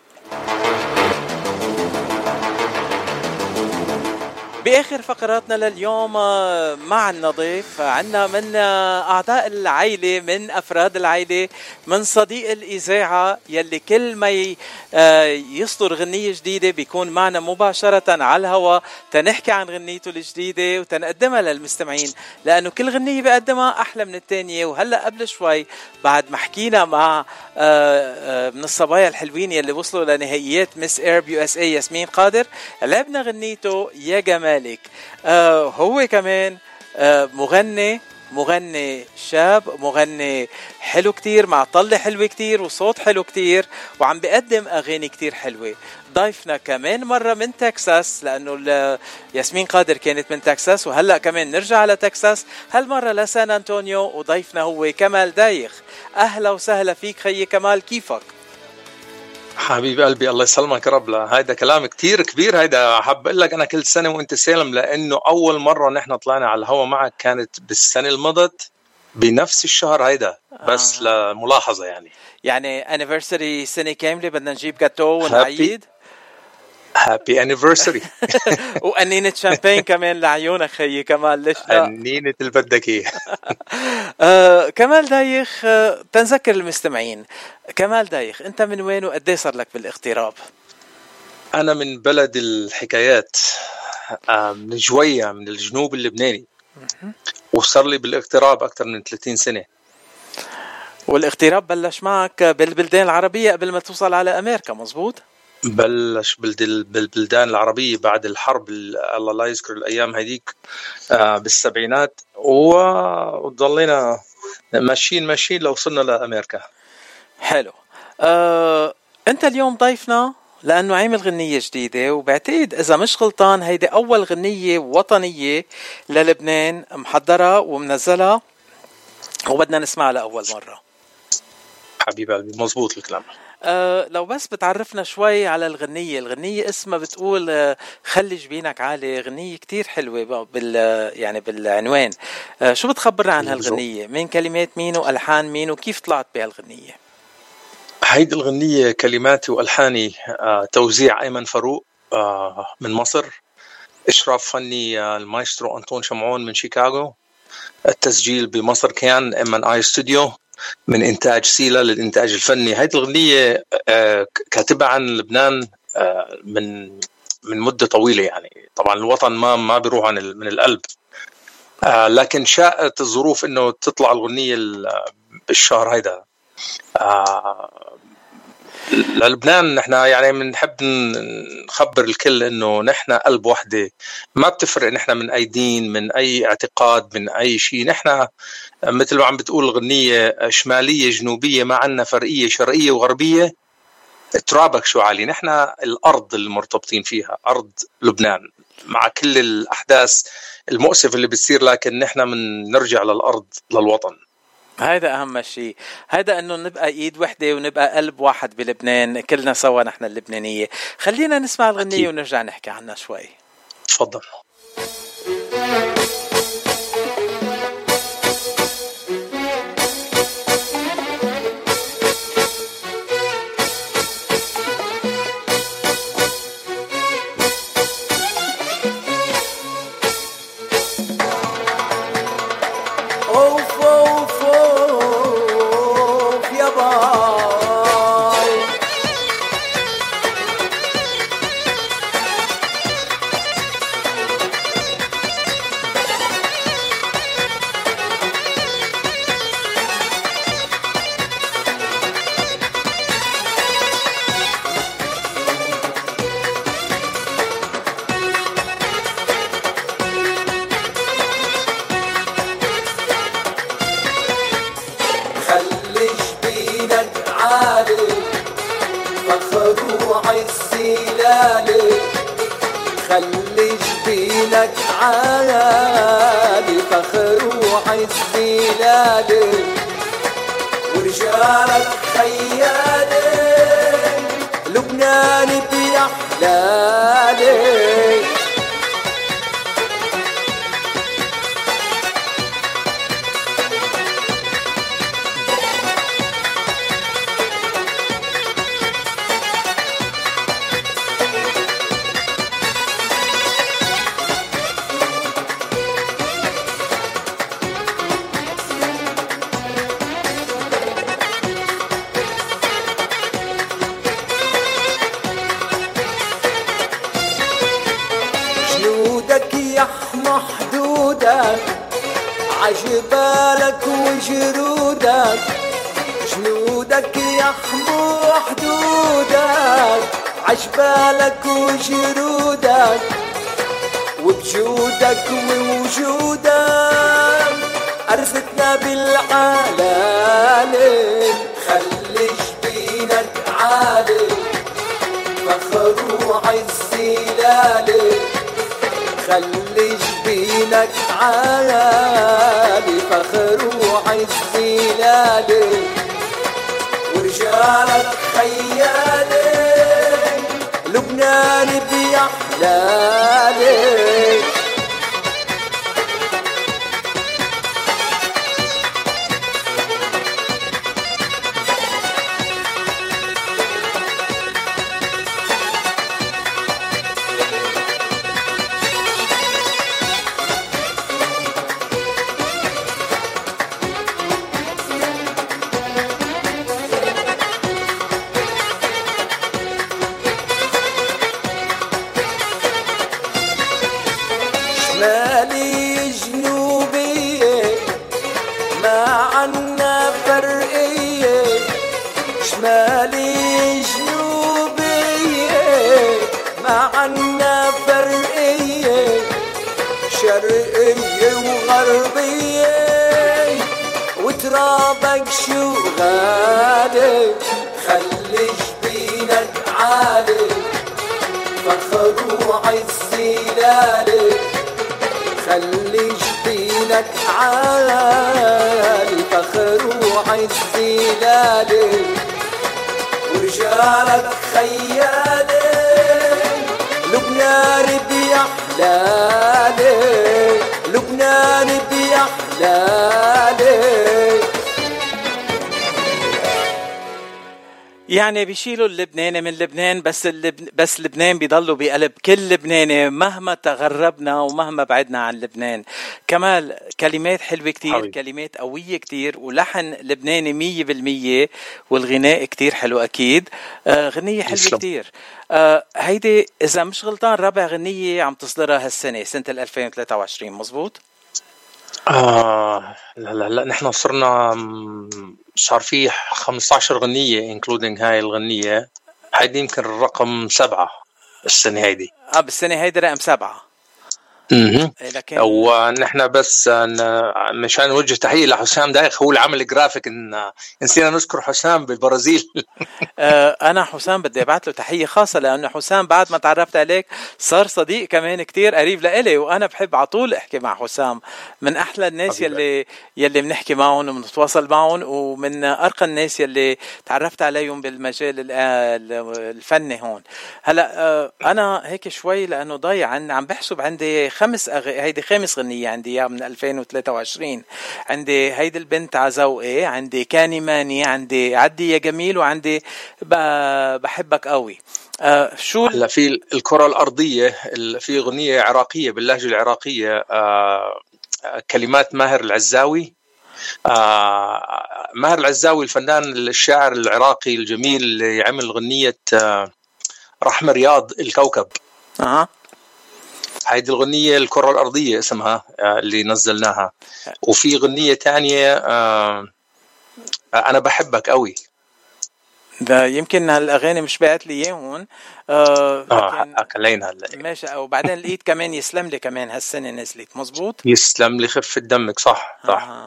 S7: بآخر فقراتنا لليوم مع النظيف عنا من أعضاء العائلة، من أفراد العائلة، من صديق الإذاعة يلي كل ما يصدر غنية جديدة بيكون معنا مباشرة على الهواء تنحكي عن غنيته الجديدة وتنقدمها للمستمعين، لأنه كل غنية بيقدمها أحلى من التانية. وهلأ قبل شوي بعد ما حكينا مع من الصبايا الحلوين يلي وصلوا لنهائيات مس ايرب يو اس اي ياسمين قادر، لعبنا غنيته يا جمالك. هو كمان مغني شاب، مغني حلو كتير، مع طلة حلوة كتير وصوت حلو كتير، وعم بيقدم أغاني كتير حلوة. ضيفنا كمان مرة من تكساس، لأنه ياسمين قادر كانت من تكساس، وهلأ كمان نرجع على تكساس، هالمرة لسان أنطونيو، وضيفنا هو كمال دايخ. أهلا وسهلا فيك خيي كمال، كيفك؟
S17: حبيب قلبي الله يسلمك يا رب. هيدا كلام كتير كبير. هيدا حاب اقول لك انا كل سنه وانت سالم، لانه اول مره نحن طلعنا على الهوا معك كانت بالسنه المضت بنفس الشهر هيدا. بس لملاحظه يعني
S7: anniversary سنه كامله بدنا نجيب جاتو ونعيد.
S17: هابي انيفرساري.
S7: وقنينة شامبين كمان لعيونك خيي كمال، ليش لا؟
S17: قنينة اللي بدك اياه.
S7: كمال دايخ، تنذكر المستمعين، كمال دايخ انت من وين وقد ايه صار لك بالاغتراب؟
S17: انا من بلد الحكايات، من جوية، من الجنوب اللبناني، وصار لي بالاغتراب اكثر من 30 سنة.
S7: والاغتراب بلش معك بالبلدان العربية قبل ما توصل على امريكا، مزبوط؟
S17: بلش بالبلدان العربية بعد الحرب، الله لا يذكر الأيام هذيك، بالسبعينات، وضلينا ماشيين لو وصلنا لأمريكا.
S7: حلو. أنت اليوم ضيفنا لأنه عامل غنية جديدة، وبعتقد إذا مش غلطان هيدي أول غنية وطنية للبنان محضرة ومنزلة وبدنا نسمعها لأول مرة.
S17: حبيب قلبي، مزبوط الكلام.
S7: لو بس بتعرفنا شوي على الغنية اسمها بتقول خلي جبينك عالي، غنية كتير حلوة يعني بالعنوان. شو بتخبرنا عن هالغنية؟ مين كلمات مين وألحان مين وكيف طلعت بهالغنية؟
S17: هيدي الغنية كلماتي وألحاني توزيع أيمن فاروق من مصر، إشراف فني المايسترو أنطون شمعون من شيكاغو، التسجيل بمصر كان M&I ستوديو، من إنتاج سيلا للإنتاج الفني. هيدي الغنية كاتبها عن لبنان من مدة طويلة، يعني طبعا الوطن ما بيروح من القلب، لكن شاءت الظروف إنه تطلع الغنية بالشهر هيدا. للبنان نحن يعني بنحب نخبر الكل انه نحن قلب وحده، ما بتفرق نحن من اي دين، من اي اعتقاد، من اي شيء. نحن مثل ما عم بتقول الغنية شمالية جنوبية، ما عنا فرقية شرقية وغربية. ترابك شو عالي، نحن الارض اللي مرتبطين فيها ارض لبنان، مع كل الاحداث المؤسفة اللي بتصير، لكن نحن نرجع للارض للوطن.
S7: هيدا أهم شيء، هيدا أنه نبقى إيد وحدة ونبقى قلب واحد بلبنان، كلنا سوا نحن اللبنانية. خلينا نسمع الغنية أكيد، ونرجع نحكي عنها شوي.
S17: تفضل.
S16: ما عنا فرقية شمالي جنوبية ما عنا فرقية شرقية وغربية وترابك شو غالي خلي جبينك عالي فخر وعز لالي خلي جبينك عالي فخر وعز لالي ورجالك خيالي لبنان بيحلالي لبنان بيحلالي.
S7: يعني بيشيلوا اللبناني من لبنان بس لبنان بيضلوا بقلب كل لبناني مهما تغربنا ومهما بعدنا عن لبنان. كمال كلمات حلوة كتير حبيب. كلمات قوية كتير ولحن لبناني 100% والغناء كتير حلو أكيد. غنية حلوة كتير. هيدي إذا مش غلطان رابع غنية عم تصدرها هالسنة سنة 2023 مزبوط؟
S17: لا نحن صرنا صار فيه 15 غنية including هاي الغنية. هيدي يمكن الرقم 7 السنة هيدي.
S7: بالسنة هيدي رقم 7.
S17: لكن ونحن بس مشان نوجه تحية لحسام دايخ هو اللي عمل جرافيك نسينا نذكر حسام بالبرازيل.
S7: أنا حسام بدي أبعت له تحية خاصة لأنه حسام بعد ما تعرفت عليك صار صديق كمان كتير قريب لإلي وأنا بحب عطول أحكي مع حسام من أحلى الناس يلي بنحكي معهم وبنتواصل معهم ومن أرقى الناس يلي تعرفت عليهم بالمجال الفني هون. هلأ أنا هيك شوي لأنه ضايع عم بحسب عندي هيدي خامس غنية عندي من 2023. عندي هيدي البنت عزوقي عندي كاني ماني عندي عدي يا جميل وعندي بحبك قوي. شو
S17: هلا في الكرة الأرضية في غنية عراقية باللهجة العراقية كلمات ماهر العزاوي. ماهر العزاوي الفنان الشاعر العراقي الجميل اللي عمل غنية رحمة رياض الكوكب. هيدي الغنية الكرة الأرضية اسمها اللي نزلناها. وفي غنية تانية أنا بحبك قوي.
S7: ده يمكن هالأغاني مش بعت لي إياهم.
S17: أكلينا هلا
S7: ماشي. وبعدين لقيت كمان يسلم لي كمان هالسنة نزلت مزبوط.
S17: يسلم لي خفة دمك صح.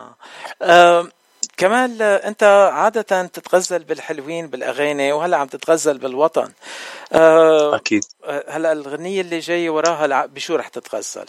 S7: كمال أنت عادة تتغزل بالحلوين بالأغاني وهلأ عم تتغزل بالوطن.
S17: أكيد.
S7: هلأ الغنية اللي جاي وراها بشو رح تتغزل؟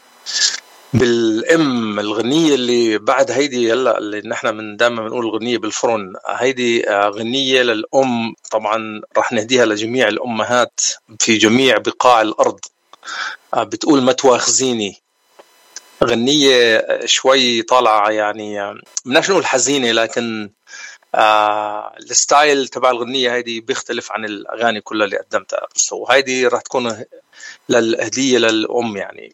S17: بالأم الغنية اللي بعد هيدي هلا اللي نحن من دائما بنقول غنية بالفرن. هيدي غنية للأم طبعا رح نهديها لجميع الأمهات في جميع بقاع الأرض. بتقول ما تواخذيني. غنية شوي طالعة يعني مناش نقول حزينة لكن الستايل تبع الغنية هيدي بيختلف عن الأغاني كلها اللي قدمتها. وهيدي راح تكون للهدية للأم يعني.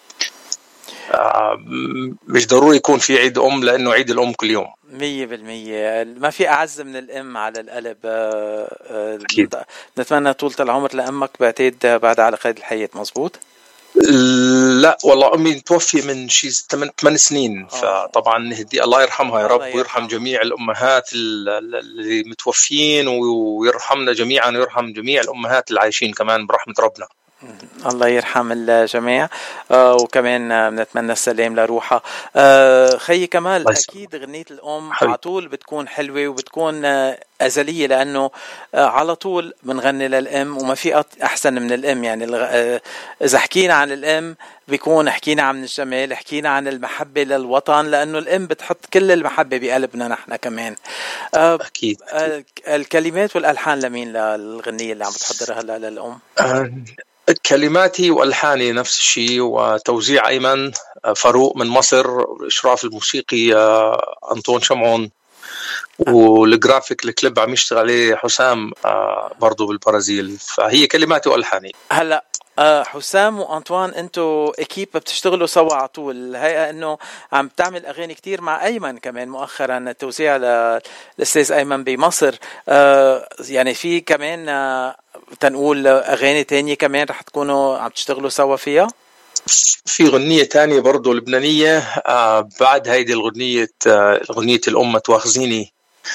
S17: مش ضروري يكون في عيد أم لأنه عيد الأم كل يوم
S7: 100%. ما في أعز من الأم على القلب. أكيد. نتمنى طولة العمر لأمك بعتقد بعد على قيد الحياة مزبوط.
S17: لا والله أمي توفي من شيء 8 سنين. فطبعا نهدي الله يرحمها يا رب ويرحم جميع الأمهات اللي متوفين ويرحمنا جميعا ويرحم جميع الأمهات اللي عايشين كمان برحمة ربنا.
S7: الله يرحم الجميع. وكمان نتمنى السلام لروحها. خي كمال أكيد غنية الأم على طول بتكون حلوة وبتكون أزلية لأنه على طول بنغني للأم وما في أحسن من الأم. يعني إذا حكينا عن الأم بيكون حكينا عن الجمال حكينا عن المحبة للوطن لأنه الأم بتحط كل المحبة بقلبنا نحن كمان.
S17: أكيد.
S7: الكلمات والألحان لمين للغنية اللي عم بتحضرها هلا للأم؟
S17: كلماتي والحاني نفس الشيء وتوزيع أيمن فاروق من مصر إشراف الموسيقي أنطون شمعون والجرافيك الكليب عم يشتغل عليه حسام برضو بالبرازيل. فهي كلماتي والحاني.
S7: هلا حسام وأنطوان أنتوا إكيب بتشتغلوا سوا على طول. الهيئة أنه عم تعمل أغاني كتير مع أيمن كمان مؤخرا التوزيع للأستاذ أيمن بمصر. يعني في كمان تنقول أغاني تانية كمان رح تكونوا عم تشتغلوا سوا فيها؟
S17: في غنية تانية برضو لبنانية بعد هيدي الغنية الأم تواخذيني،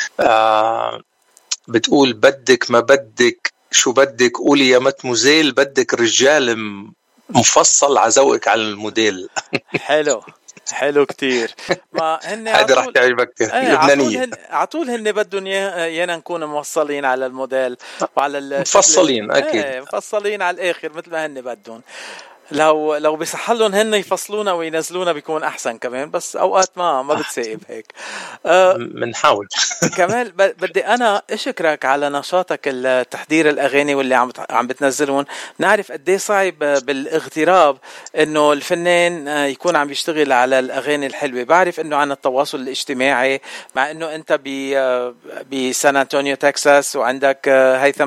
S17: بتقول بدك ما بدك شو بدك قولي يا متموزيل، بدك رجال مفصل عزوقك على الموديل.
S7: حلو كتير. ما هن
S17: هذا راح تعجبك كتير. لبنانية
S7: عطول هن بدهم يانا نكون موصلين على الموديل وعلى
S17: مفصلين أكيد
S7: مفصلين على الآخر مثل ما هن بدهم. لو بيصحلهم هن يفصلونا وينزلونا بيكون أحسن كمان، بس أوقات ما بتسائب هيك.
S17: منحاول.
S7: كمان بدي أنا أشكرك على نشاطك التحضير الأغاني واللي عم بتنزلون. نعرف قديه صعب بالاغتراب إنه الفنان يكون عم يشتغل على الأغاني الحلوة. بعرف إنه عن التواصل الاجتماعي، مع إنه أنت بسان أنطونيو تكساس، وعندك هيثم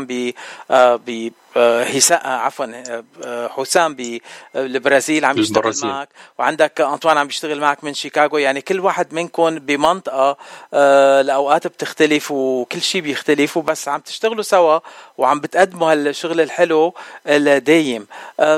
S7: حسام بالبرازيل عم يشتغل معك، وعندك أنطوان عم يشتغل معك من شيكاغو. يعني كل واحد منكم بمنطقة الأوقات بتختلف وكل شيء بيختلف، بس عم تشتغلوا سوا وعم بتقدموا هالشغل الحلو الدايم.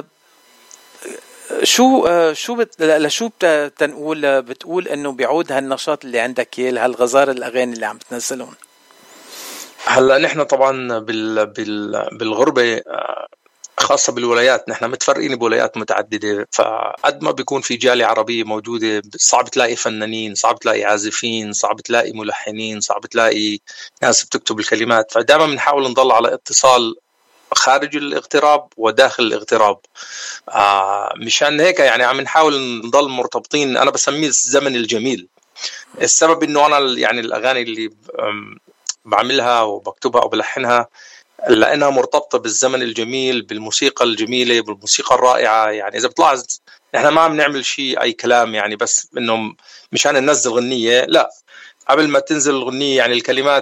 S7: شو بتقول إنه بيعود هالنشاط اللي عندك هالغزارة الأغاني اللي عم بتنزلون؟
S17: هلا نحن طبعا بالغربة خاصة بالولايات، نحن متفرقين بولايات متعددة، فقد ما بيكون في جالية عربية موجودة صعب تلاقي فنانين، صعب تلاقي عازفين، صعب تلاقي ملحنين، صعب تلاقي ناس بتكتب الكلمات. فدائما بنحاول نضل على اتصال خارج الاغتراب وداخل الاغتراب. مشان هيك يعني عم نحاول نضل مرتبطين. أنا بسميه الزمن الجميل. السبب إنه أنا يعني الأغاني اللي بعملها وبكتبها أو بلحنها لأنها مرتبطة بالزمن الجميل، بالموسيقى الجميلة، بالموسيقى الرائعة. يعني إذا بتلاحظ نحن ما عم نعمل شيء أي كلام، يعني بس إنه مشان ننزل غنية، لا، قبل ما تنزل الغنية يعني الكلمات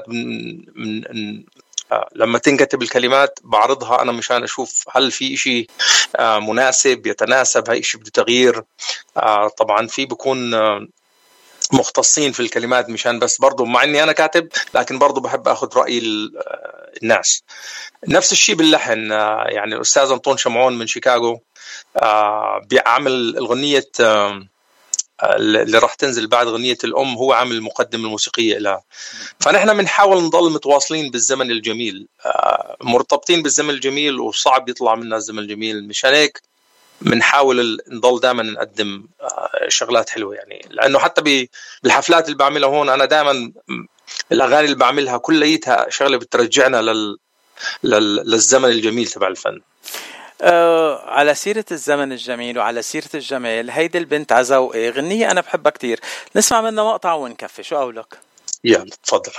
S17: لما تنكتب الكلمات بعرضها أنا مشان أشوف هل في شيء مناسب يتناسب، هاي شيء بده تغيير. طبعا في بكون مختصين في الكلمات مشان بس برضو مع اني انا كاتب، لكن برضو بحب اخذ رأي الناس. نفس الشيء باللحن. يعني الاستاذ انطون شمعون من شيكاغو بيعمل الغنية اللي راح تنزل بعد غنية الأم، هو عامل المقدمة الموسيقية لها. فنحن بنحاول نضل متواصلين بالزمن الجميل، مرتبطين بالزمن الجميل، وصعب يطلع منا الزمن الجميل. مشان هيك بنحاول نضل دائما نقدم شغلات حلوة. يعني لأنه حتى بالحفلات اللي بعملها هون أنا دائما الأغاني اللي بعملها كليتها شغلة بترجعنا للزمن الجميل تبع الفن.
S7: على سيرة الزمن الجميل وعلى سيرة الجمال، هيدي البنت عزوقي غنية أنا بحبها كتير، نسمع منها مقطع ونكفي. شو قولك؟
S17: يلا تفضل.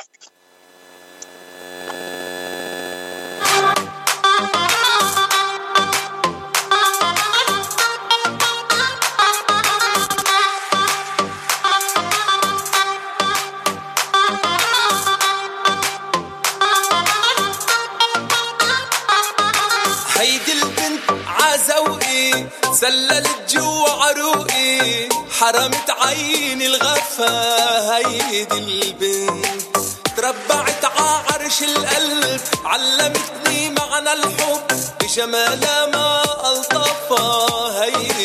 S16: سللت جوا عروقي حرمت عيني الغفا. هيدي البنت تربعت ععرش القلب، علمتني معنى الحب بجمالها ما ألطفها.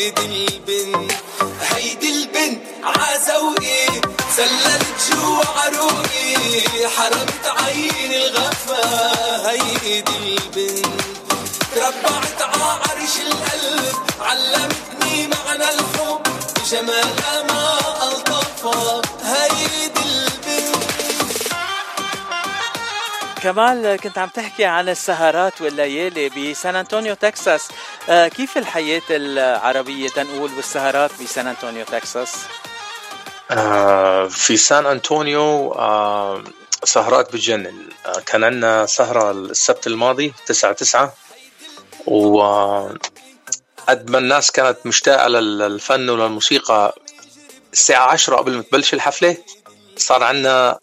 S16: هيدي البنت عزوقي سللت جوا عروقي حرمت عيني الغفا. هيدي البنت تربعت ععرش القلب، علمتني معنى الحب بجمالها ما ألطفها. هيدي البنت.
S7: كمال، كنت عم تحكي عن السهرات والليالي بسان أنطونيو تكساس. كيف الحياة العربية تنقول والسهرات بسان أنطونيو تكساس؟
S17: في سان أنطونيو سهرات بتجنن. كان عندنا سهرة السبت الماضي 9/9، وقد ما الناس كانت مشتاقة للفن وللموسيقى، الساعة 10 قبل ما تبلش الحفلة صار عنا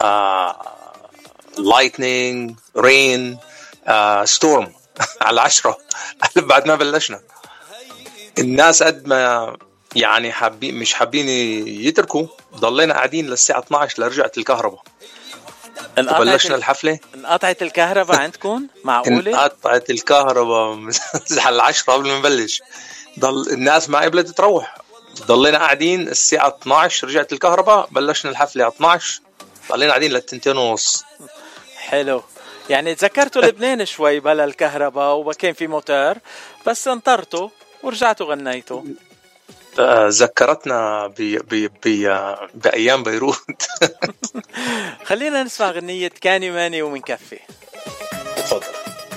S17: lightning rain storm على 10 بعد ما بلشنا. الناس قد ما يعني مش حابين يتركوا، ضلينا قاعدين للساعة 12 لرجعت الكهرباء. بلشنا الحفلة.
S7: انقطعت الكهرباء عندكم؟ معقولة؟
S17: انقطعت الكهرباء على 10 قبل ما نبلش. ضل الناس ما قبلت تروح، ضلينا قاعدين الساعة 12، رجعت الكهرباء، بلشنا الحفلة على 12، ضلينا قاعدين ل2:30.
S7: حلو، يعني تذكرتوا لبنان شوي بلا الكهرباء وكان في موتور، بس انطرتوا ورجعتوا غنيتوا.
S17: ذكرتنا بأيام بيروت.
S7: خلينا نسمع غنية كاني ماني ومنكفي.
S17: تفضل.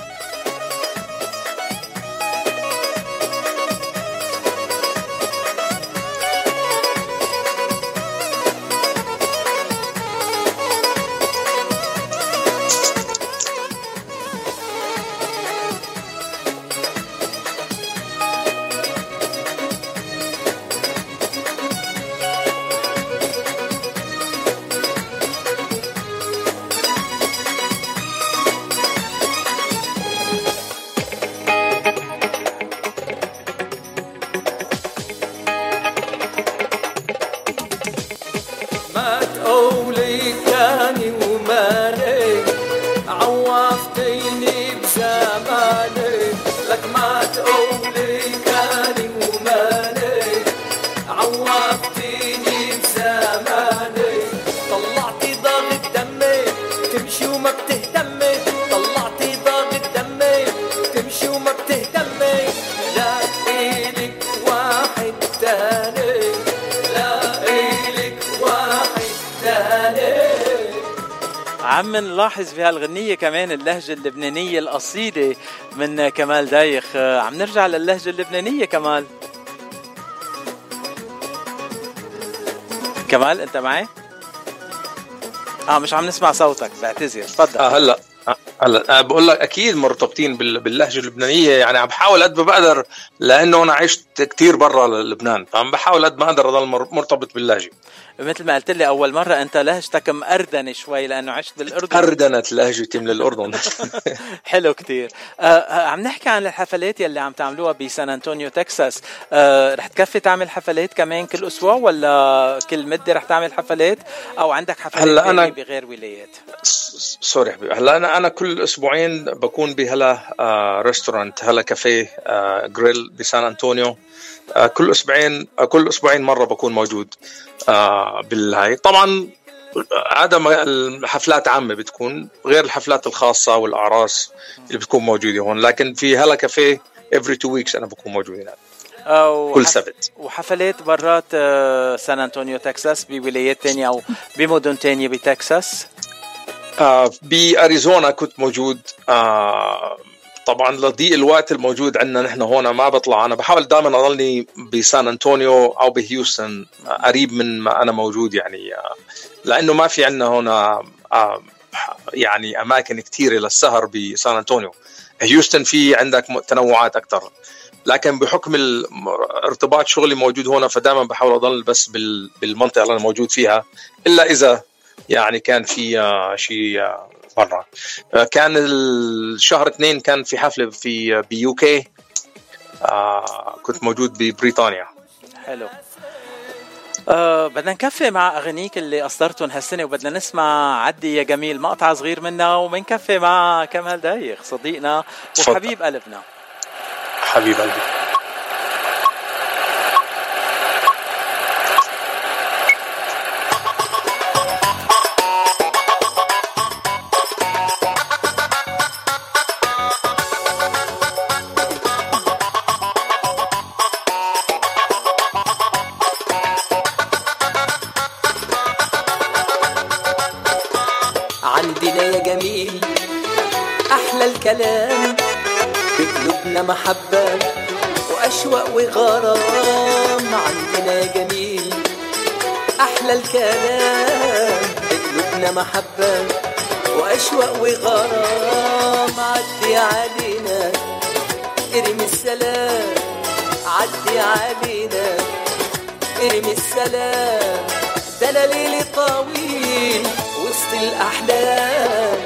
S7: عم نلاحظ في هالغنية كمان اللهجة اللبنانية الأصيلة من كمال دايخ. عم نرجع للهجة اللبنانية. كمال أنت معي؟ مش عم نسمع صوتك، بعتذر. تفضل.
S17: هلا بقول لك اكيد مرتبطين باللهجه اللبنانيه، يعني عم بحاول قد ما بقدر، لانه انا عشت كتير برا لبنان، فعم بحاول قد ما اقدر اضل مرتبط باللهجه.
S7: مثل ما قلت لي اول مره انت لهجتك مأردنه شوي لانه عشت بالاردن.
S17: أردنت لهجتي من الاردن.
S7: حلو كتير. عم نحكي عن الحفلات يلي عم تعملوها بسان أنطونيو تكساس. رح تكفي تعمل حفلات كمان كل اسبوع ولا كل مده رح تعمل حفلات، او عندك حفلات
S17: أنا
S7: بغير ولايات؟
S17: سوري حبيبي، هلا انا كل اسبوعين بكون بهلا ريستورانت، هلا كافيه جريل بسان أنطونيو. كل اسبوعين مره بكون موجود بالهاي. طبعا عادة الحفلات عامة بتكون غير الحفلات الخاصة والأعراس اللي بتكون موجودة هون، لكن في هلا كافيه every 2 weeks أنا بكون موجود هناك كل سبت.
S7: وحفلات برات سان أنطونيو تكساس بولايات تانية أو بمدن تانية بتكساس؟
S17: بأريزونا كنت موجود. طبعا لضيق الوقت الموجود عندنا نحن هون ما بطلع. أنا بحاول دائما أضلني بسان أنطونيو أو بهيوستن قريب من ما أنا موجود، يعني لأنه ما في عندنا هنا يعني أماكن كتيرة للسهر بسان أنطونيو. هيوستن في عندك تنوعات أكتر، لكن بحكم ارتباط شغلي موجود هنا فدائما بحاول أضل بس بالمنطقة اللي أنا موجود فيها، إلا إذا يعني كان في شيء برا. كان الشهر 2 كان في حفلة في UK. كنت موجود ببريطانيا.
S7: حلو. بدنا نكفي مع أغنيك اللي أصدرتهم هالسنة، وبدنا نسمع عدي يا جميل مقطع صغير منها، ومنكفي مع كمال دايخ صديقنا وحبيب قلبنا.
S17: حبيب قلبي.
S16: عندنا يا جميل أحلى الكلام، بقلوبنا محبة وأشواق وغرام. عندنا يا جميل أحلى الكلام، بقلوبنا محبة وأشواق وغرام. عدي علينا ارمي السلام، عدي علينا ارمي السلام، ده أنا ليلي طويل وسط الأحلام.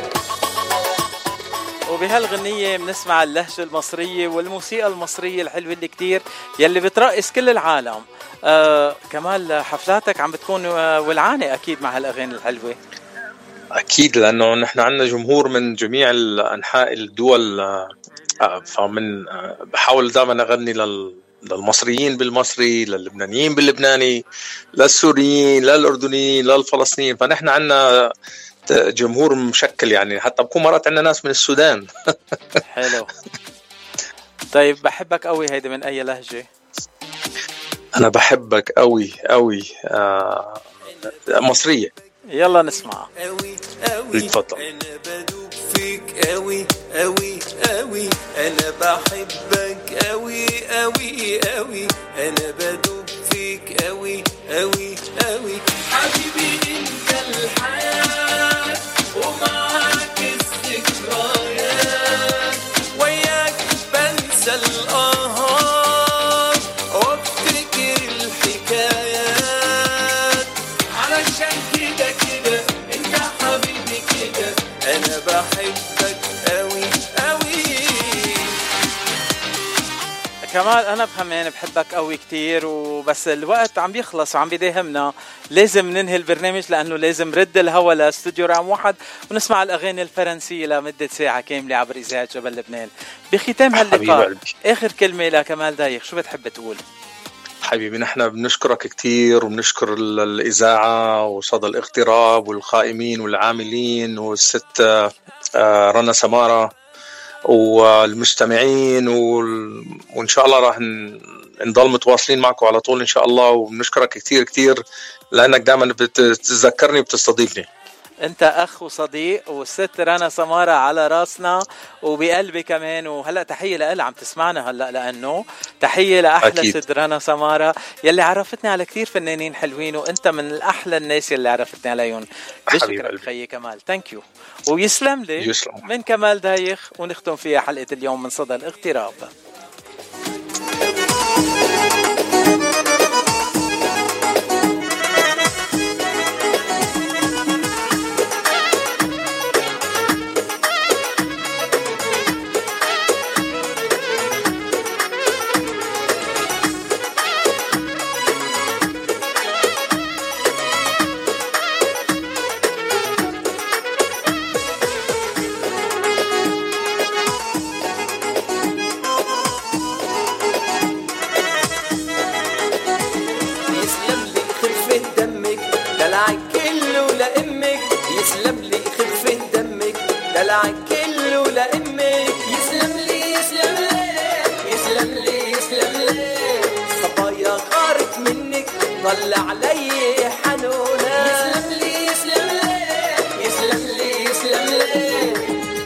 S7: وبهالغنية بنسمع اللهجة المصرية والموسيقى المصرية الحلوة اللي كتير يلي بترقص كل العالم. كمال حفلاتك عم بتكون ولعانة أكيد مع هالأغاني الحلوة.
S17: أكيد، لأنه نحن عندنا جمهور من جميع الأنحاء الدول، فمن بحاول دائما أغني للمصريين بالمصري، للبنانيين باللبناني، للسوريين، للأردنيين، للفلسطينيين. فنحن عنا جمهور مشكل يعني، حتى بكون مرات عندنا ناس من السودان.
S7: حلو. طيب بحبك قوي هيدي من أي لهجة؟
S17: أنا بحبك قوي قوي مصرية.
S7: يلا نسمع.
S17: اتفضل.
S16: أنا بدوب فيك قوي قوي قوي، أنا بحبك قوي قوي قوي، أنا بدوب فيك قوي قوي قوي. حبيبي أنت الحياة ومعاك الذكريات، وياك بنسى الآهات وافتكر الحكايات، علشان كده كده انت حبيبي كده، انا بحبك قوي قوي.
S7: كمال أنا بكمان بحبك قوي كتير، وبس الوقت عم بيخلص وعم بيداهمنا، لازم ننهي البرنامج لأنه لازم رد الهوا لاستوديو رقم 1 ونسمع الأغاني الفرنسية لمدة ساعة كاملة عبر إذاعة جبل لبنان. بختام هاللقاء آخر كلمة لكمال دايخ، شو بتحب تقول؟
S17: حبيبي نحن بنشكرك كتير، وبنشكر الإذاعة وصدى الاغتراب والقائمين والعاملين والست رنا سمارة والمستمعين، وإن شاء الله راح نضل متواصلين معكم على طول إن شاء الله. وبنشكرك كتير كتير لأنك دائما بتتذكرني وبتستضيفني.
S7: انت اخ وصديق، والست رنا سمارة على راسنا وبقلبي كمان. وهلا تحية لها عم تسمعنا هلا، لانه تحية لاحلى ست رنا سمارة يلي عرفتني على كتير فنانين حلوين، وانت من الاحلى الناس يلي عرفتني عليهم. بشكرك خيي كمال. ثانك يو ويسلم لي.
S17: يسلم.
S7: من كمال دايخ، ونختم فيها حلقة اليوم من صدى الاغتراب.
S16: طلع علي حنونة. يسلم لي يسلم لي يسلم لي يسلم لي.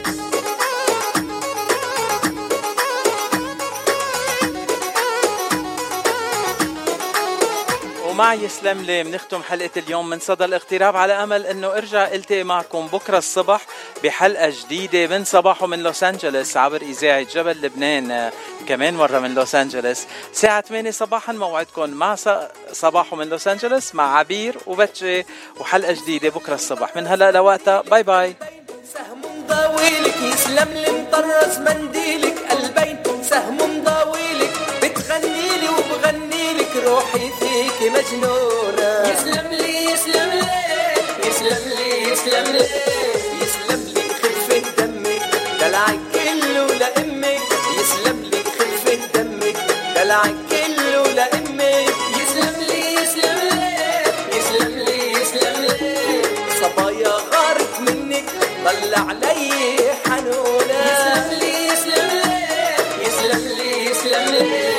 S7: ومع يسلم لي بنختم حلقة اليوم من صدى الاغتراب، على أمل أنه أرجع التقي معكم بكرة الصبح بحلقة جديدة من صباحه من لوس أنجلوس عبر إذاعة جبل لبنان، كمان مرة من لوس أنجلوس ساعة 8 صباحا. موعدكم مع صباحه من لوس أنجلوس مع عبير وبتشي، وحلقة جديدة بكرة الصبح. من هلأ لوقتها باي باي.
S16: سهم مضاويلك يسلم لي مطرز منديلك، قلبين سهم مضاويلك بتغنيلي وبغنيلك، روحي فيك مجنونة. يسلم لي يسلم لي يسلم لي يسلم لي يسلم لي خفة دمك دلعك كله لأمك. يسلم لي خفة دمك دلعك كله لأمك. يسلم لي يسلم لي يسلم لي يسلم لي. صبايا غارت منك طلع علي حنونة. يسلم لي يسلم لي يسلم لي يسلم لي.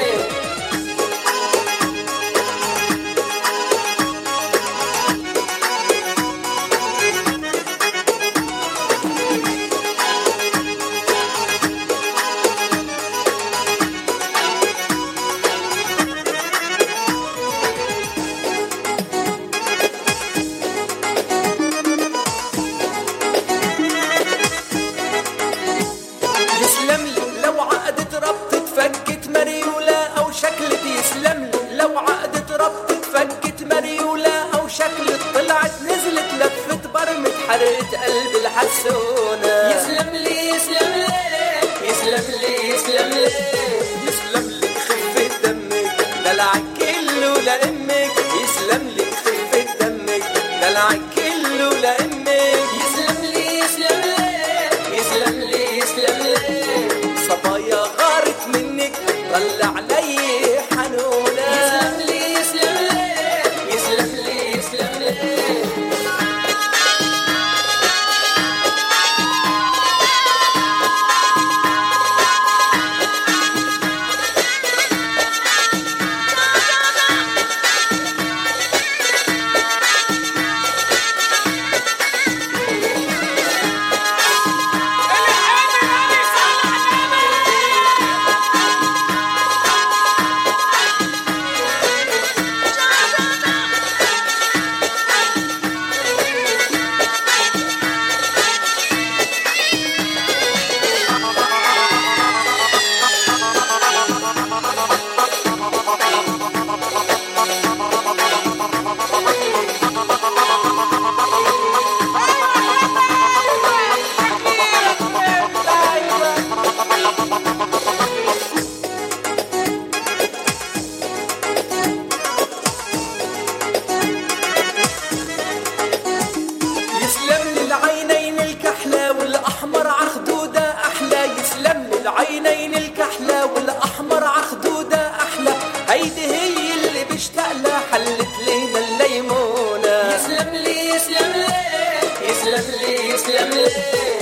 S16: عينين الكحلة والأحمر عخدودة أحلى، هيدي هي اللي بشتاق لها، حلت لينا الليمونة. يسلم لي يسلم لي يسلم لي يسلم لي